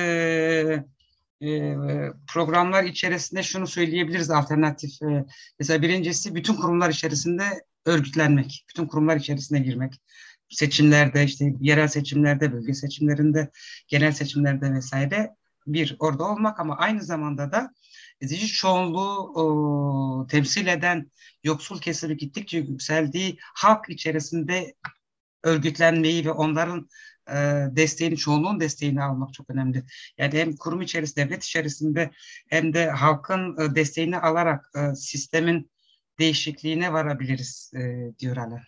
programlar içerisinde şunu söyleyebiliriz alternatif. Mesela birincisi bütün kurumlar içerisinde örgütlenmek, bütün kurumlar içerisine girmek. Seçimlerde, işte yerel seçimlerde, bölge seçimlerinde, genel seçimlerde vesaire bir orada olmak ama aynı zamanda da ezici çoğunluğu temsil eden yoksul kesimi gittikçe yükseldiği halk içerisinde örgütlenmeyi ve onların desteğini, çoğunluğun desteğini almak çok önemli. Yani hem kurum içerisinde, devlet içerisinde hem de halkın desteğini alarak sistemin değişikliğine varabiliriz diyor Alain.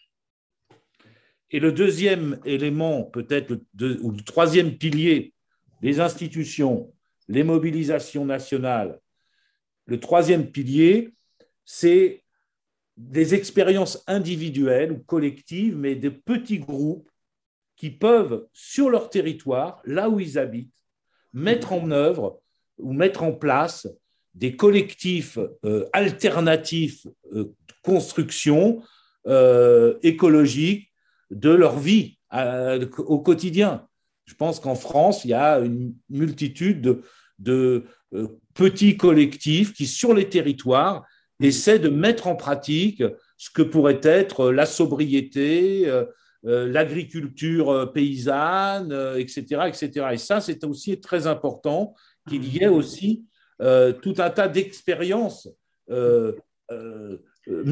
Et le deuxième élément, peut-être, ou le troisième pilier, les institutions, les mobilisations nationales. Le troisième pilier, c'est des expériences individuelles ou collectives, mais de petits groupes qui peuvent, sur leur territoire, là où ils habitent, mettre en œuvre ou mettre en place des collectifs alternatifs, construction écologique de leur vie au quotidien. Je pense qu'en France, il y a une multitude de petits collectifs qui, sur les territoires, essaient de mettre en pratique ce que pourrait être la sobriété, l'agriculture paysanne, etc., etc. Et ça, c'est aussi très important qu'il y ait aussi tout un tas d'expériences, de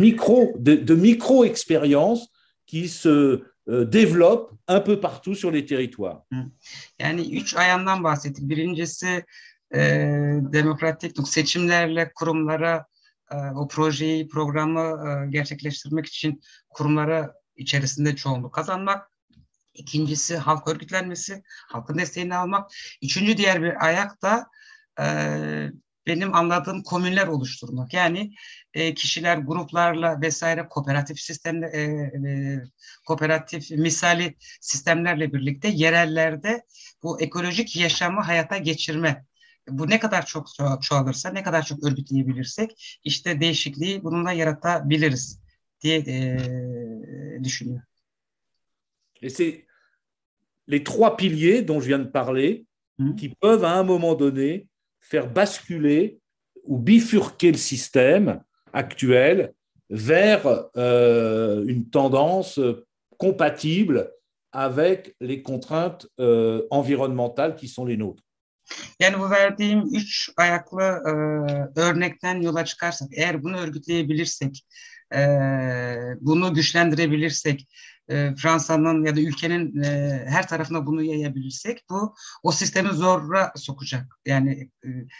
micro-expériences qui se développent un peu partout sur les territoires. Yani üç ayağından bahsettik. Birincisi demokratik seçimlerle kurumlara o projeyi, programı gerçekleştirmek için kurumlara içerisinde çoğunluk kazanmak. İkincisi halk örgütlenmesi, halkın desteğini almak. Üçüncü diğer bir ayak da benim anladığım komünler oluşturmak. Yani kişiler, gruplarla vesaire kooperatif sistemle, kooperatif misali sistemlerle birlikte yerellerde bu ekolojik yaşamı hayata geçirme. Bu ne kadar çok çoğalırsa, ne kadar çok örgütleyebilirsek işte değişikliği bununla yaratabiliriz diye düşünüyor. Et c'est les trois piliers dont je viens de parler qui peuvent à un moment donné faire basculer ou bifurquer le système actuel vers une tendance compatible avec les contraintes environnementales qui sont les nôtres. Yani bu verdiğim üç ayaklı örnekten yola çıkarsak, eğer bunu örgütleyebilirsek, bunu güçlendirebilirsek, Fransa'nın ya da ülkenin her tarafına bunu yayabilirsek, bu o sistemi zora sokacak. Yani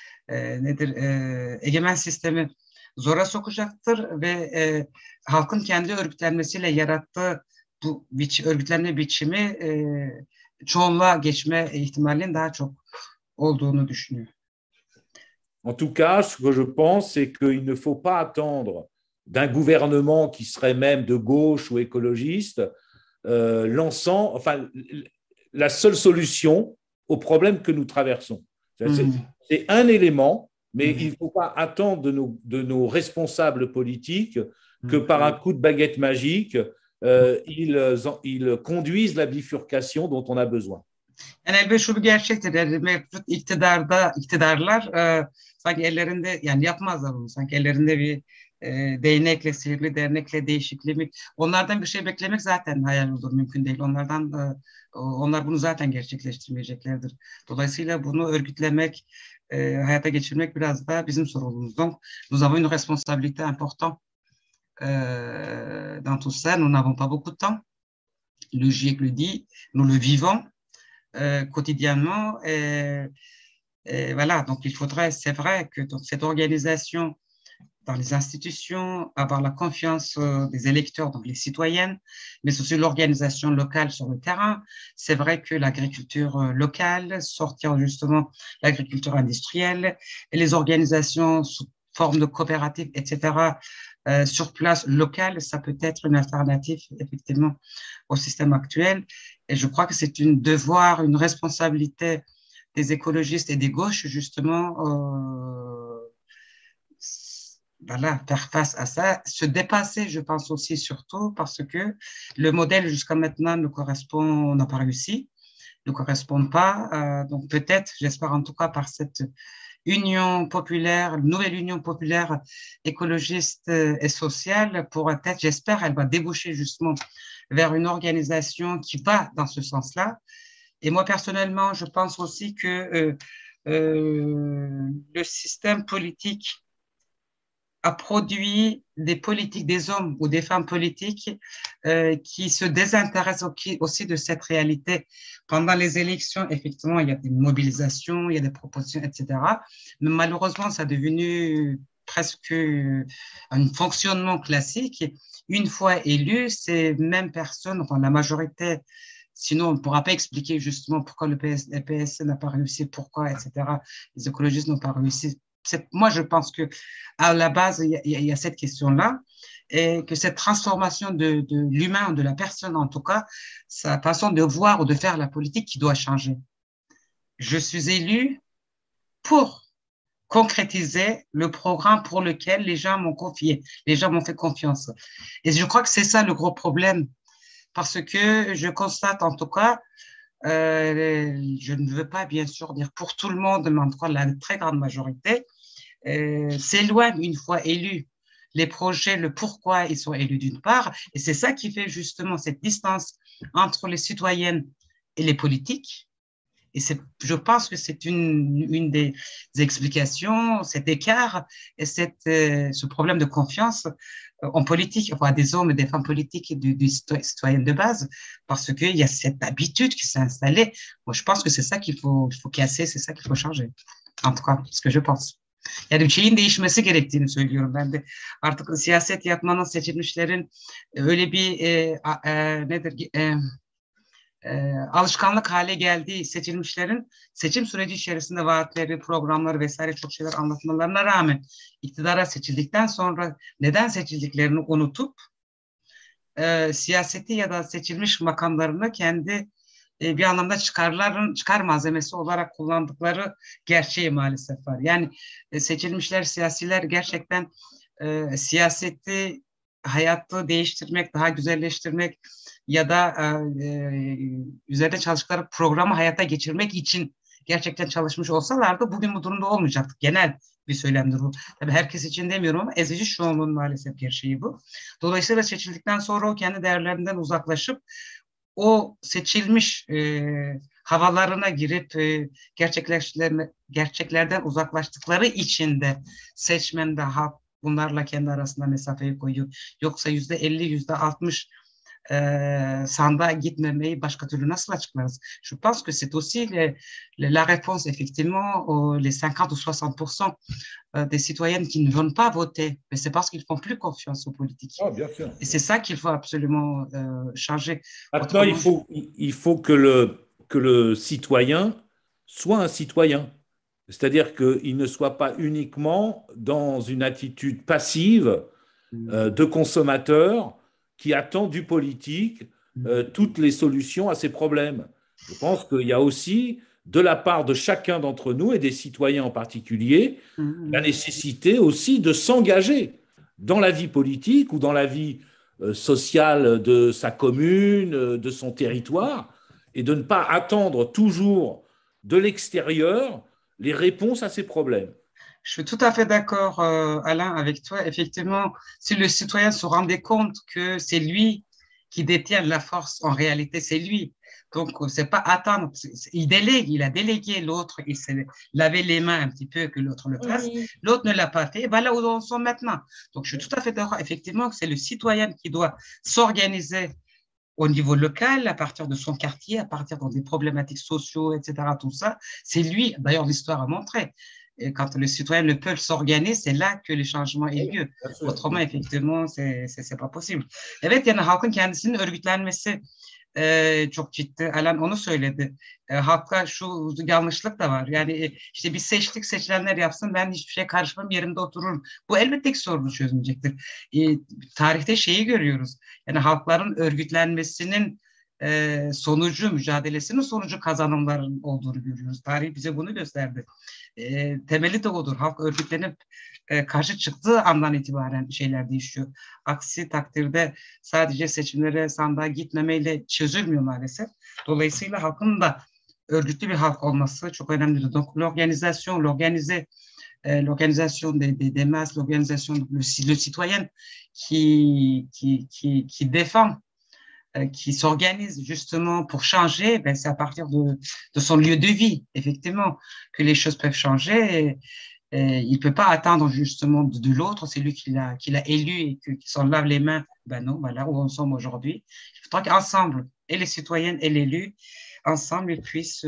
egemen sistemi zora sokacaktır ve halkın kendi örgütlenmesiyle yarattığı bu örgütlenme biçimi çoğunluğa geçme ihtimalinin daha çok olduğunu düşünüyor. En tout cas, ce que je pense, c'est qu'il ne faut pas attendre d'un gouvernement qui serait même de gauche ou écologiste, lançant, enfin, la seule solution au problème que nous traversons. C'est un élément, mais il ne faut pas attendre de nos responsables politiques que par un coup de baguette magique, ils conduisent la bifurcation dont on a besoin. Yani elbette şu bir gerçektir. Yani mevcut iktidarlar sanki ellerinde, yani yapmazlar bunu. Sanki ellerinde bir değnekle, sihirli dernekle değişikliği. Onlardan bir şey beklemek zaten hayal olur, mümkün değil. Onlar bunu zaten gerçekleştirmeyeceklerdir. Dolayısıyla bunu örgütlemek, hayata geçirmek biraz da bizim sorumluluğumuz. Donc, nous avons une responsabilité importante dans tout ça. Nous n'avons pas beaucoup de temps. Le GIEC le dit, nous le vivons quotidiennement. Voilà, donc il faudrait, c'est vrai que cette organisation dans les institutions, avoir la confiance des électeurs, donc les citoyennes, mais aussi l'organisation locale sur le terrain. C'est vrai que l'agriculture locale, sortir justement l'agriculture industrielle et les organisations sous forme de coopératives, etc., sur place locale, ça peut être une alternative effectivement au système actuel. Et je crois que c'est un devoir, une responsabilité des écologistes et des gauches justement voilà, faire face à ça, se dépasser, je pense aussi surtout parce que le modèle jusqu'à maintenant ne correspond, n'a pas réussi, ne correspond pas. Donc peut-être, j'espère en tout cas par cette union populaire, nouvelle union populaire écologiste et sociale, pourra être, j'espère, elle va déboucher justement vers une organisation qui va dans ce sens-là. Et moi, personnellement, je pense aussi que le système politique a produit des politiques, des hommes ou des femmes politiques qui se désintéressent aussi de cette réalité. Pendant les élections, effectivement, il y a des mobilisations, il y a des propositions, etc. Mais malheureusement, ça est devenu presque un fonctionnement classique. Une fois élu, ces mêmes personnes, enfin la majorité, sinon on ne pourra pas expliquer justement pourquoi le PS n'a pas réussi, pourquoi, etc. Les écologistes n'ont pas réussi. Moi, je pense que à la base, il y a cette question-là, et que cette transformation de l'humain, de la personne en tout cas, sa façon de voir ou de faire la politique qui doit changer. Je suis élu pour concrétiser le programme pour lequel les gens m'ont confié, les gens m'ont fait confiance. Et je crois que c'est ça le gros problème, parce que je constate en tout cas, je ne veux pas bien sûr dire pour tout le monde, mais en tout cas la très grande majorité, s'éloignent une fois élus les projets, le pourquoi ils sont élus d'une part, et c'est ça qui fait justement cette distance entre les citoyennes et les politiques. Et je pense que c'est une des explications, cet écart et ce problème de confiance en politique, enfin, des hommes et des femmes politiques et des citoyennes de base, parce qu'il y a cette habitude qui s'est installée. Moi, je pense que c'est ça qu'il faut casser, c'est ça qu'il faut changer. En tout cas, ce que je pense. Yani bir şeyin değişmesi gerektiğini söylüyorum ben de. Artık siyaset yapmanın, seçilmişlerin öyle bir nedir alışkanlık hale geldiği, seçilmişlerin seçim süreci içerisinde vaatleri, programları vesaire çok şeyler anlatmalarına rağmen iktidara seçildikten sonra neden seçildiklerini unutup siyaseti ya da seçilmiş makamlarını kendi bir anlamda çıkar malzemesi olarak kullandıkları gerçeği maalesef var. Yani seçilmişler, siyasiler gerçekten siyaseti, hayatı değiştirmek, daha güzelleştirmek ya da üzerinde çalıştıkları programı hayata geçirmek için gerçekten çalışmış olsalardı bugün bu durumda olmayacaktık. Genel bir söylemdir bu. Tabii herkes için demiyorum ama ezici çoğunluğun maalesef gerçeği bu. Dolayısıyla seçildikten sonra o kendi değerlerinden uzaklaşıp o seçilmiş havalarına girip gerçeklerden uzaklaştıkları için de seçmen de halk bunlarla kendi arasında mesafeyi koyuyor. Yoksa %50, %60 sandığa gitmemeyi başka türlü nasıl açıklarız? Je pense que c'est aussi la réponse effectivement les 50 ou 60% des citoyennes qui ne vont pas voter, mais c'est parce qu'ils font plus confiance aux politiques. Oh, bien sûr. Et c'est ça qu'il faut absolument changer. Maintenant, il faut que le citoyen soit un citoyen. C'est-à-dire qu'il ne soit pas uniquement dans une attitude passive de consommateur qui attend du politique toutes les solutions à ses problèmes. Je pense qu'il y a aussi, de la part de chacun d'entre nous et des citoyens en particulier, la nécessité aussi de s'engager dans la vie politique ou dans la vie sociale de sa commune, de son territoire, et de ne pas attendre toujours de l'extérieur les réponses à ces problèmes. Je suis tout à fait d'accord, Alain, avec toi. Effectivement, si le citoyen se rendait compte que c'est lui qui détient la force, en réalité, c'est lui. Donc, c'est pas attendre. Il délègue, il a délégué l'autre, il s'est lavé les mains un petit peu que l'autre le fasse. Oui. L'autre ne l'a pas fait. Et voilà où on sont maintenant. Donc, je suis tout à fait d'accord, effectivement, que c'est le citoyen qui doit s'organiser au niveau local, à partir de son quartier, à partir des problématiques sociaux, etc., tout ça. C'est lui, d'ailleurs, l'histoire a montré. Et quand les citoyens ne peuvent s'organiser, c'est là que le changement est lieu. Autrement, effectivement, c'est pas possible. Evet, yani halkın kendisinin örgütlenmesi çok ciddi. Alan onu söyledi. Halka şu yanlışlık da var. Yani işte biz seçtik, seçilenler yapsın, ben hiçbir şey karışmam, yerimde otururum. Bu elbette ki sorunu çözmeyecektir. Tarihte şeyi görüyoruz. Yani halkların örgütlenmesinin sonucu, mücadelesinin sonucu kazanımların olduğunu görüyoruz. Tarih bize bunu gösterdi. Temeli de odur. Halk örgütlenip karşı çıktığı andan itibaren şeyler değişiyor. Aksi takdirde sadece seçimlere, sandığa gitmemeyle çözülmüyor maalesef. Dolayısıyla halkın da örgütlü bir halk olması çok önemlidir. Donc, l'organisation des masses, l'organisation, le citoyen qui défend, qui s'organise justement pour changer, ben, c'est à partir de son lieu de vie, effectivement, que les choses peuvent changer. Et il ne peut pas attendre justement de l'autre, c'est lui qui l'a élu et qui s'en lave les mains. Ben non, voilà où nous sommes aujourd'hui. Il faudra qu'ensemble, et les citoyennes et l'élu, ensemble, ils puissent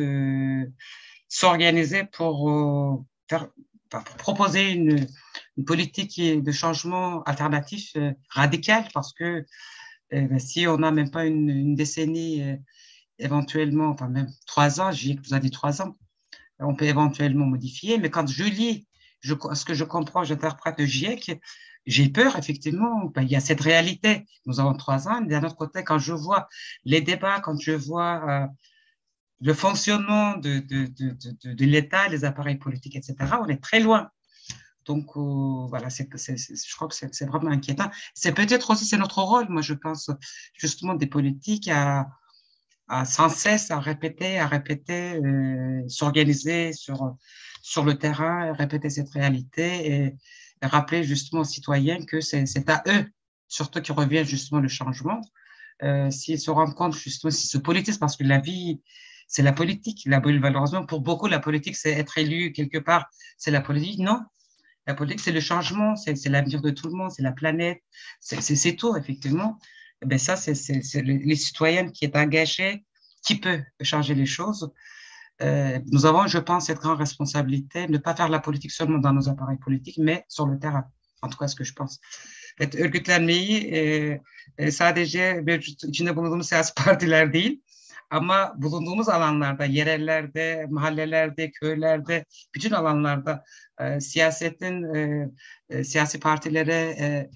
s'organiser pour proposer une politique de changement alternatif radical, parce que si on n'a même pas une décennie, éventuellement, enfin même 3 ans, GIEC vous a dit 3 ans, on peut éventuellement modifier, mais quand je lis ce que je comprends, j'interprète le GIEC, j'ai peur, effectivement, ben, il y a cette réalité, nous avons 3 ans, mais d'un autre côté, quand je vois les débats, quand je vois le fonctionnement de l'État, les appareils politiques, etc., on est très loin. Donc, voilà, je crois que c'est vraiment inquiétant. C'est peut-être aussi, c'est notre rôle, moi, je pense, justement, des politiques à sans cesse à répéter, s'organiser sur le terrain, répéter cette réalité et rappeler justement aux citoyens que c'est à eux, surtout qui revient justement le changement. S'ils se rendent compte justement, s'ils se politisent, parce que la vie, c'est la politique. Malheureusement, pour beaucoup, la politique, c'est être élu quelque part, c'est la politique. Non, la politique, c'est le changement, c'est l'avenir de tout le monde, c'est la planète, c'est tout, effectivement. Et bien ça, c'est les citoyens qui est engagé, qui peut changer les choses. Nous avons, je pense, cette grande responsabilité de ne pas faire la politique seulement dans nos appareils politiques, mais sur le terrain. En tout cas, ce que je pense. Örgütlenmeyi sadece mevcut içinde bulunduğumuz siyasi partiler değil, ama bulunduğumuz alanlarda, yerellerde, mahallelerde, köylerde, bütün alanlarda siyasetin siyasi partilere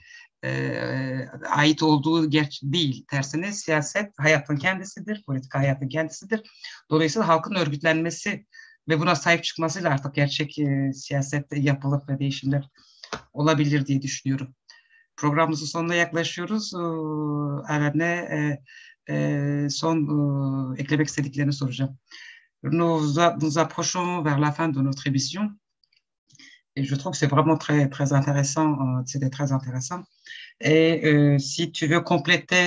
ait olduğu değil. Tersine siyaset hayatın kendisidir, politika hayatın kendisidir. Dolayısıyla halkın örgütlenmesi ve buna sahip çıkmasıyla artık gerçek siyaset yapılıp ve değişimler olabilir diye düşünüyorum. Programımızın sonuna yaklaşıyoruz. Eren'e son eklemek istediklerini soracağım. Nous approchons vers la fin de notre émission et je trouve que c'est vraiment très, très intéressant. C'était très intéressant. Et si tu veux compléter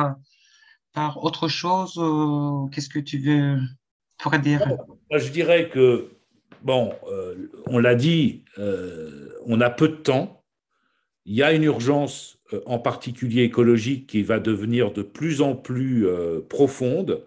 par autre chose, qu'est-ce que tu pourrais dire? Moi, je dirais que, bon, on l'a dit, on a peu de temps. Il y a une urgence, en particulier écologique, qui va devenir de plus en plus profonde.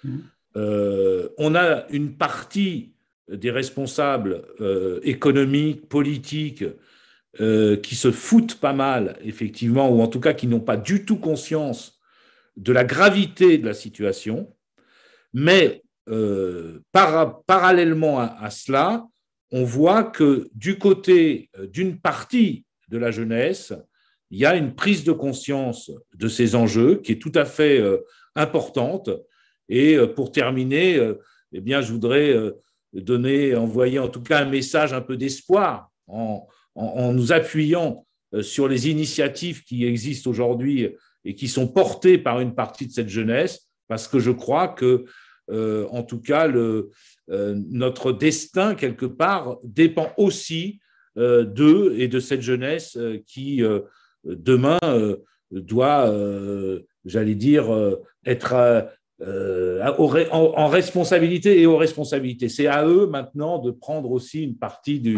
On a une partie des responsables économiques, politiques, qui se foutent pas mal, effectivement, ou en tout cas qui n'ont pas du tout conscience de la gravité de la situation. Mais parallèlement à cela, on voit que du côté d'une partie de la jeunesse, il y a une prise de conscience de ces enjeux qui est tout à fait importante. Et pour terminer, eh bien, je voudrais envoyer en tout cas un message un peu d'espoir en nous appuyant sur les initiatives qui existent aujourd'hui et qui sont portées par une partie de cette jeunesse, parce que je crois que, en tout cas, notre destin, quelque part, dépend aussi d'eux et de cette jeunesse qui, demain, doit, j'allais dire, être en responsabilité et aux responsabilités. C'est à eux maintenant de prendre aussi une partie du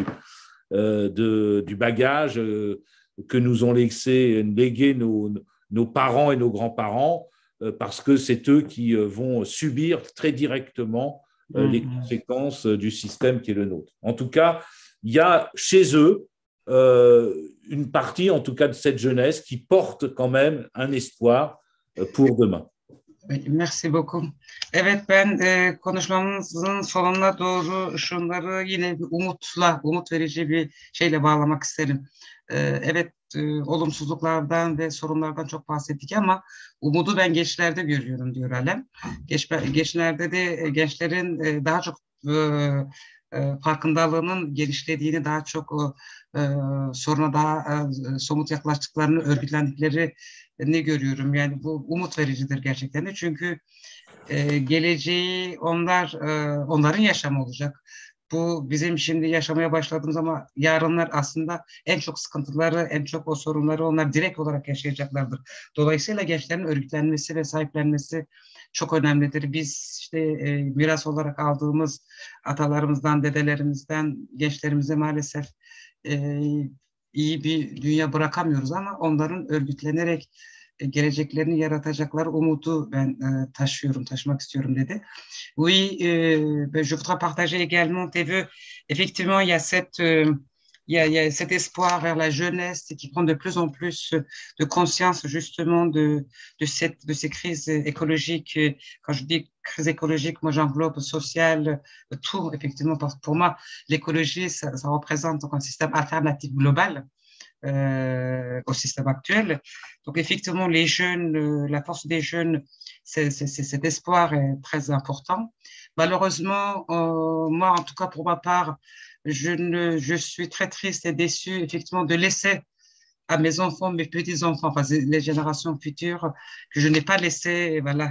bagage que nous ont légué nos parents et nos grands-parents, parce que c'est eux qui vont subir très directement les conséquences du système qui est le nôtre. En tout cas, il y a chez eux une partie, en tout cas de cette jeunesse, qui porte quand même un espoir pour demain. Merci beaucoup. Evet, ben konuşmamızın sonuna doğru şunları yine bir umut verici bir şeyle bağlamak isterim. Evet, olumsuzluklardan ve sorunlardan çok bahsettik ama umudu ben gençlerde görüyorum diyor Alem. Gençlerde de gençlerin daha çok farkındalığının genişlediğini, daha çok soruna daha somut yaklaştıklarını, örgütlendikleri ne görüyorum. Yani bu umut vericidir gerçekten de. Çünkü geleceği onların yaşamı olacak. Bu bizim şimdi yaşamaya başladığımız ama yarınlar aslında en çok sıkıntıları, en çok o sorunları onlar direkt olarak yaşayacaklardır. Dolayısıyla gençlerin örgütlenmesi ve sahiplenmesi çok önemlidir. Biz işte miras olarak aldığımız atalarımızdan, dedelerimizden gençlerimize maalesef e, iyi bir dünya bırakamıyoruz ama onların örgütlenerek geleceklerini yaratacakları umudu ben taşımak istiyorum dedi. Oui, je voudrais partager également tes vœux. Effectivement, il y a cet espoir vers la jeunesse qui prend de plus en plus de conscience justement de ces crises écologiques. Quand je dis crise écologique, moi j'englobe sociale, tout, effectivement, parce que pour moi, l'écologie, ça représente donc un système alternatif global au système actuel. Donc effectivement, les jeunes, la force des jeunes, cet espoir est très important. Malheureusement, moi, en tout cas pour ma part, je suis très triste et déçue effectivement de laisser à mes enfants, mes petits-enfants, enfin les générations futures, que je n'ai pas laissé, voilà,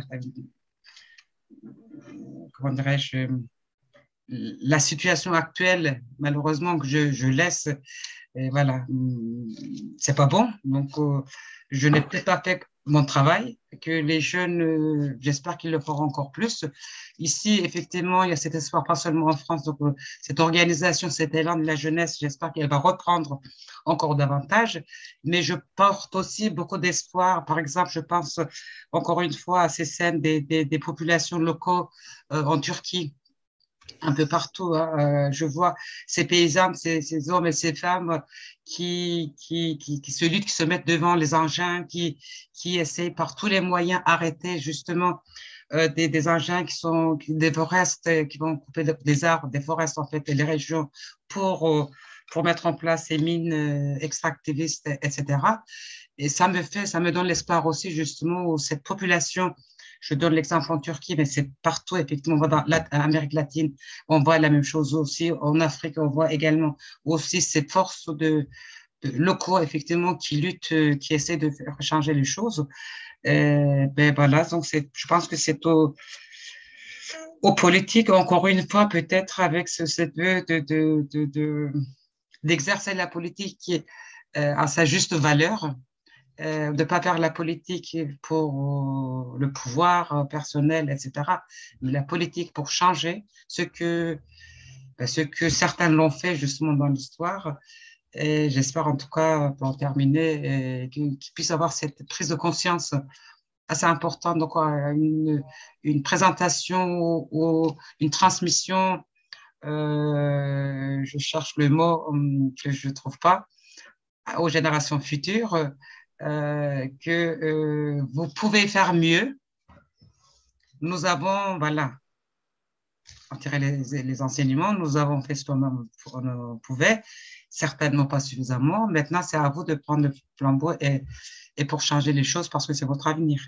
comment dirais-je, la situation actuelle, malheureusement, que je laisse. Et voilà, c'est pas bon. Donc, je n'ai peut-être pas fait mon travail, que les jeunes, j'espère qu'ils le feront encore plus. Ici, effectivement, il y a cet espoir, pas seulement en France. Donc, cette organisation, cet élan de la jeunesse, j'espère qu'elle va reprendre encore davantage. Mais je porte aussi beaucoup d'espoir. Par exemple, je pense encore une fois à ces scènes des populations locaux en Turquie un peu partout. Hein. Je vois ces paysans, ces hommes et ces femmes qui se luttent, qui se mettent devant les engins, qui essayent par tous les moyens arrêter justement des engins des forestes, qui vont couper des arbres, des forestes en fait, et les régions pour mettre en place ces mines extractivistes, etc. Et ça me donne l'espoir aussi justement où cette population, je donne l'exemple en Turquie, mais c'est partout, effectivement, on voit dans l'Amérique latine, on voit la même chose aussi, en Afrique, on voit également aussi ces forces de locaux, effectivement, qui luttent, qui essaient de faire changer les choses. Ben voilà, donc je pense que c'est aux politiques, encore une fois, peut-être avec cette vœu d'exercer la politique qui est à sa juste valeur, de ne pas faire la politique pour le pouvoir personnel, etc., mais la politique pour changer ce que certains l'ont fait justement dans l'histoire. Et j'espère en tout cas, pour en terminer, qu'ils puissent avoir cette prise de conscience assez importante, donc une présentation ou une transmission, je cherche le mot que je ne trouve pas, aux générations futures, que vous pouvez faire mieux. Nous avons, voilà, en tiré les enseignements, nous avons fait ce qu'on pouvait, certainement pas suffisamment. Maintenant, c'est à vous de prendre le flambeau et pour changer les choses parce que c'est votre avenir.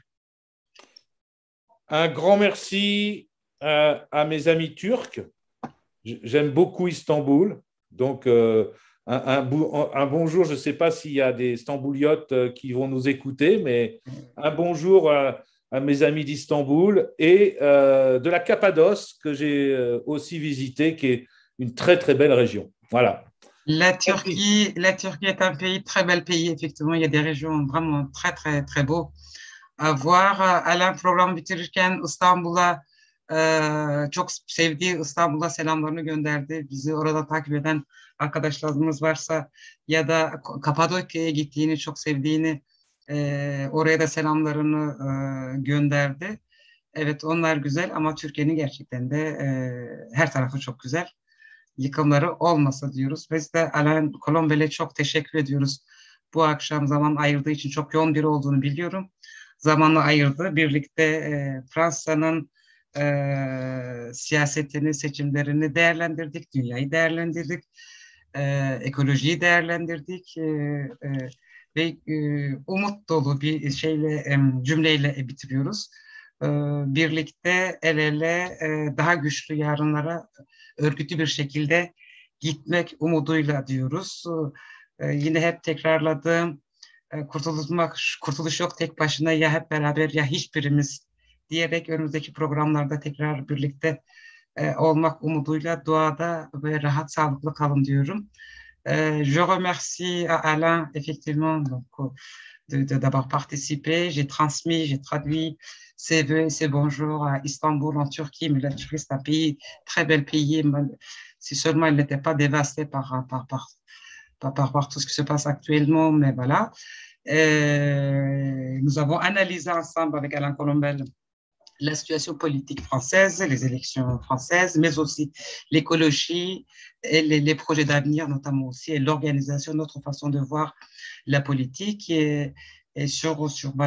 Un grand merci à mes amis turcs. J'aime beaucoup Istanbul. Donc, un bonjour, je ne sais pas s'il y a des Stambouliotes qui vont nous écouter, mais un bonjour à mes amis d'Istanbul et de la Cappadoce que j'ai aussi visité, qui est une très, très belle région. Voilà. La Turquie est un très bel pays, effectivement. Il y a des régions vraiment très, très, très beaux à voir. Alan program bitirirken İstanbul'a çok sevdiği İstanbul'a selamlarını gönderdi. Bizi orada takip eden arkadaşlarımız varsa ya da Kapadokya'ya gittiğini, çok sevdiğini, oraya da selamlarını gönderdi. Evet, onlar güzel ama Türkiye'nin gerçekten de her tarafı çok güzel. Yıkımları olmasa diyoruz. Biz de Alain Colombel'e çok teşekkür ediyoruz. Bu akşam zaman ayırdığı için çok yoğun biri olduğunu biliyorum. zamanı ayırdı. Birlikte Fransa'nın siyasetini, seçimlerini değerlendirdik, dünyayı değerlendirdik, ekolojiyi değerlendirdik ve umut dolu bir cümleyle bitiriyoruz. Birlikte el ele daha güçlü yarınlara örgütlü bir şekilde gitmek umuduyla diyoruz. Yine hep tekrarladığım kurtuluş yok tek başına, ya hep beraber ya hiçbirimiz diyerek önümüzdeki programlarda tekrar birlikte olmak umuduyla duada ve rahat, sağlıklı kalın diyorum. Je remercie à Alain effectivement d'avoir participé. J'ai transmis, j'ai traduit ses vœux et ses bonjours à Istanbul en Turquie, mais la Turquie c'est un pays, très bel pays, si seulement il n'était pas dévasté par tout ce qui se passe actuellement, mais voilà. Nous avons analysé ensemble avec Alain Colombel la situation politique française, les élections françaises, mais aussi l'écologie et les projets d'avenir, notamment aussi, et l'organisation, notre façon de voir la politique. Et sur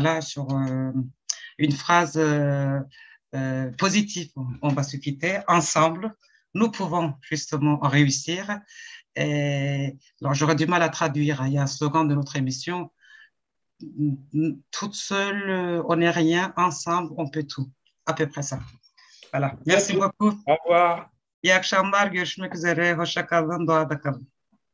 une phrase positive, on va se quitter. Ensemble, nous pouvons justement réussir. Et, alors, j'aurais du mal à traduire. Il y a un slogan de notre émission. Toute seule, on n'est rien. Ensemble, on peut tout. À peu près ça. Voilà. Merci beaucoup. Au revoir. İyi akşamlar. Görüşmek üzere. Hoşça kalın. Doğada kalın.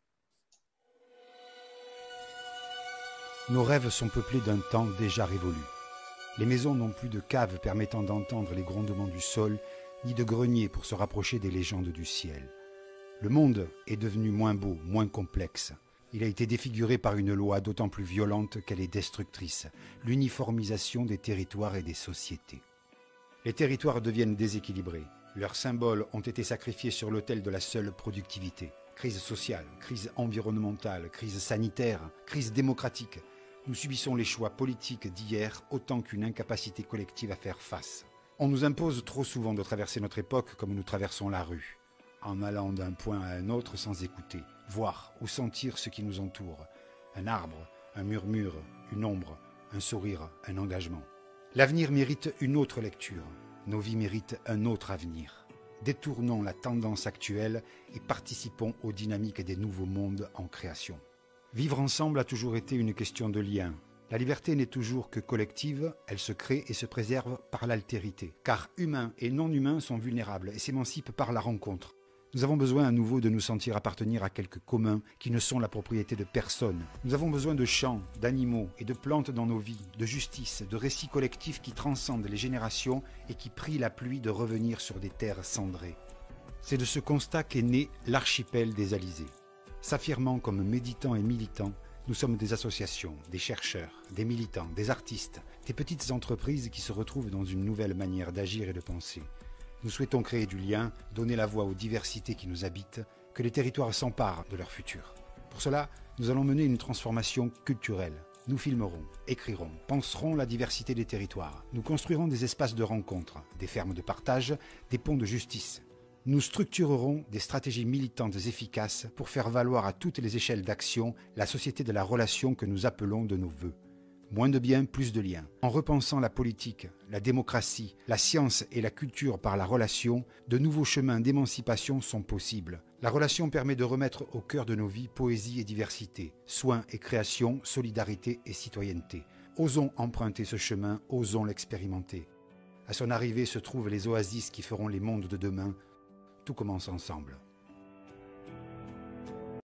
Nos rêves sont peuplés d'un temps déjà révolu. Les maisons n'ont plus de caves permettant d'entendre les grondements du sol, ni de greniers pour se rapprocher des légendes du ciel. Le monde est devenu moins beau, moins complexe. Il a été défiguré par une loi d'autant plus violente qu'elle est destructrice, l'uniformisation des territoires et des sociétés. Les territoires deviennent déséquilibrés. Leurs symboles ont été sacrifiés sur l'autel de la seule productivité. Crise sociale, crise environnementale, crise sanitaire, crise démocratique. Nous subissons les choix politiques d'hier autant qu'une incapacité collective à faire face. On nous impose trop souvent de traverser notre époque comme nous traversons la rue, en allant d'un point à un autre sans écouter, voir ou sentir ce qui nous entoure. Un arbre, un murmure, une ombre, un sourire, un engagement. L'avenir mérite une autre lecture. Nos vies méritent un autre avenir. Détournons la tendance actuelle et participons aux dynamiques des nouveaux mondes en création. Vivre ensemble a toujours été une question de lien. La liberté n'est toujours que collective, elle se crée et se préserve par l'altérité. Car humains et non humains sont vulnérables et s'émancipent par la rencontre. Nous avons besoin à nouveau de nous sentir appartenir à quelques communs qui ne sont la propriété de personne. Nous avons besoin de champs, d'animaux et de plantes dans nos vies, de justice, de récits collectifs qui transcendent les générations et qui prient la pluie de revenir sur des terres cendrées. C'est de ce constat qu'est né l'archipel des Alizés. S'affirmant comme méditants et militants, nous sommes des associations, des chercheurs, des militants, des artistes, des petites entreprises qui se retrouvent dans une nouvelle manière d'agir et de penser. Nous souhaitons créer du lien, donner la voix aux diversités qui nous habitent, que les territoires s'emparent de leur futur. Pour cela, nous allons mener une transformation culturelle. Nous filmerons, écrirons, penserons la diversité des territoires. Nous construirons des espaces de rencontre, des fermes de partage, des ponts de justice. Nous structurerons des stratégies militantes efficaces pour faire valoir à toutes les échelles d'action la société de la relation que nous appelons de nos vœux. Moins de biens, plus de liens. En repensant la politique, la démocratie, la science et la culture par la relation, de nouveaux chemins d'émancipation sont possibles. La relation permet de remettre au cœur de nos vies poésie et diversité, soins et création, solidarité et citoyenneté. Osons emprunter ce chemin, osons l'expérimenter. À son arrivée se trouvent les oasis qui feront les mondes de demain. Tout commence ensemble.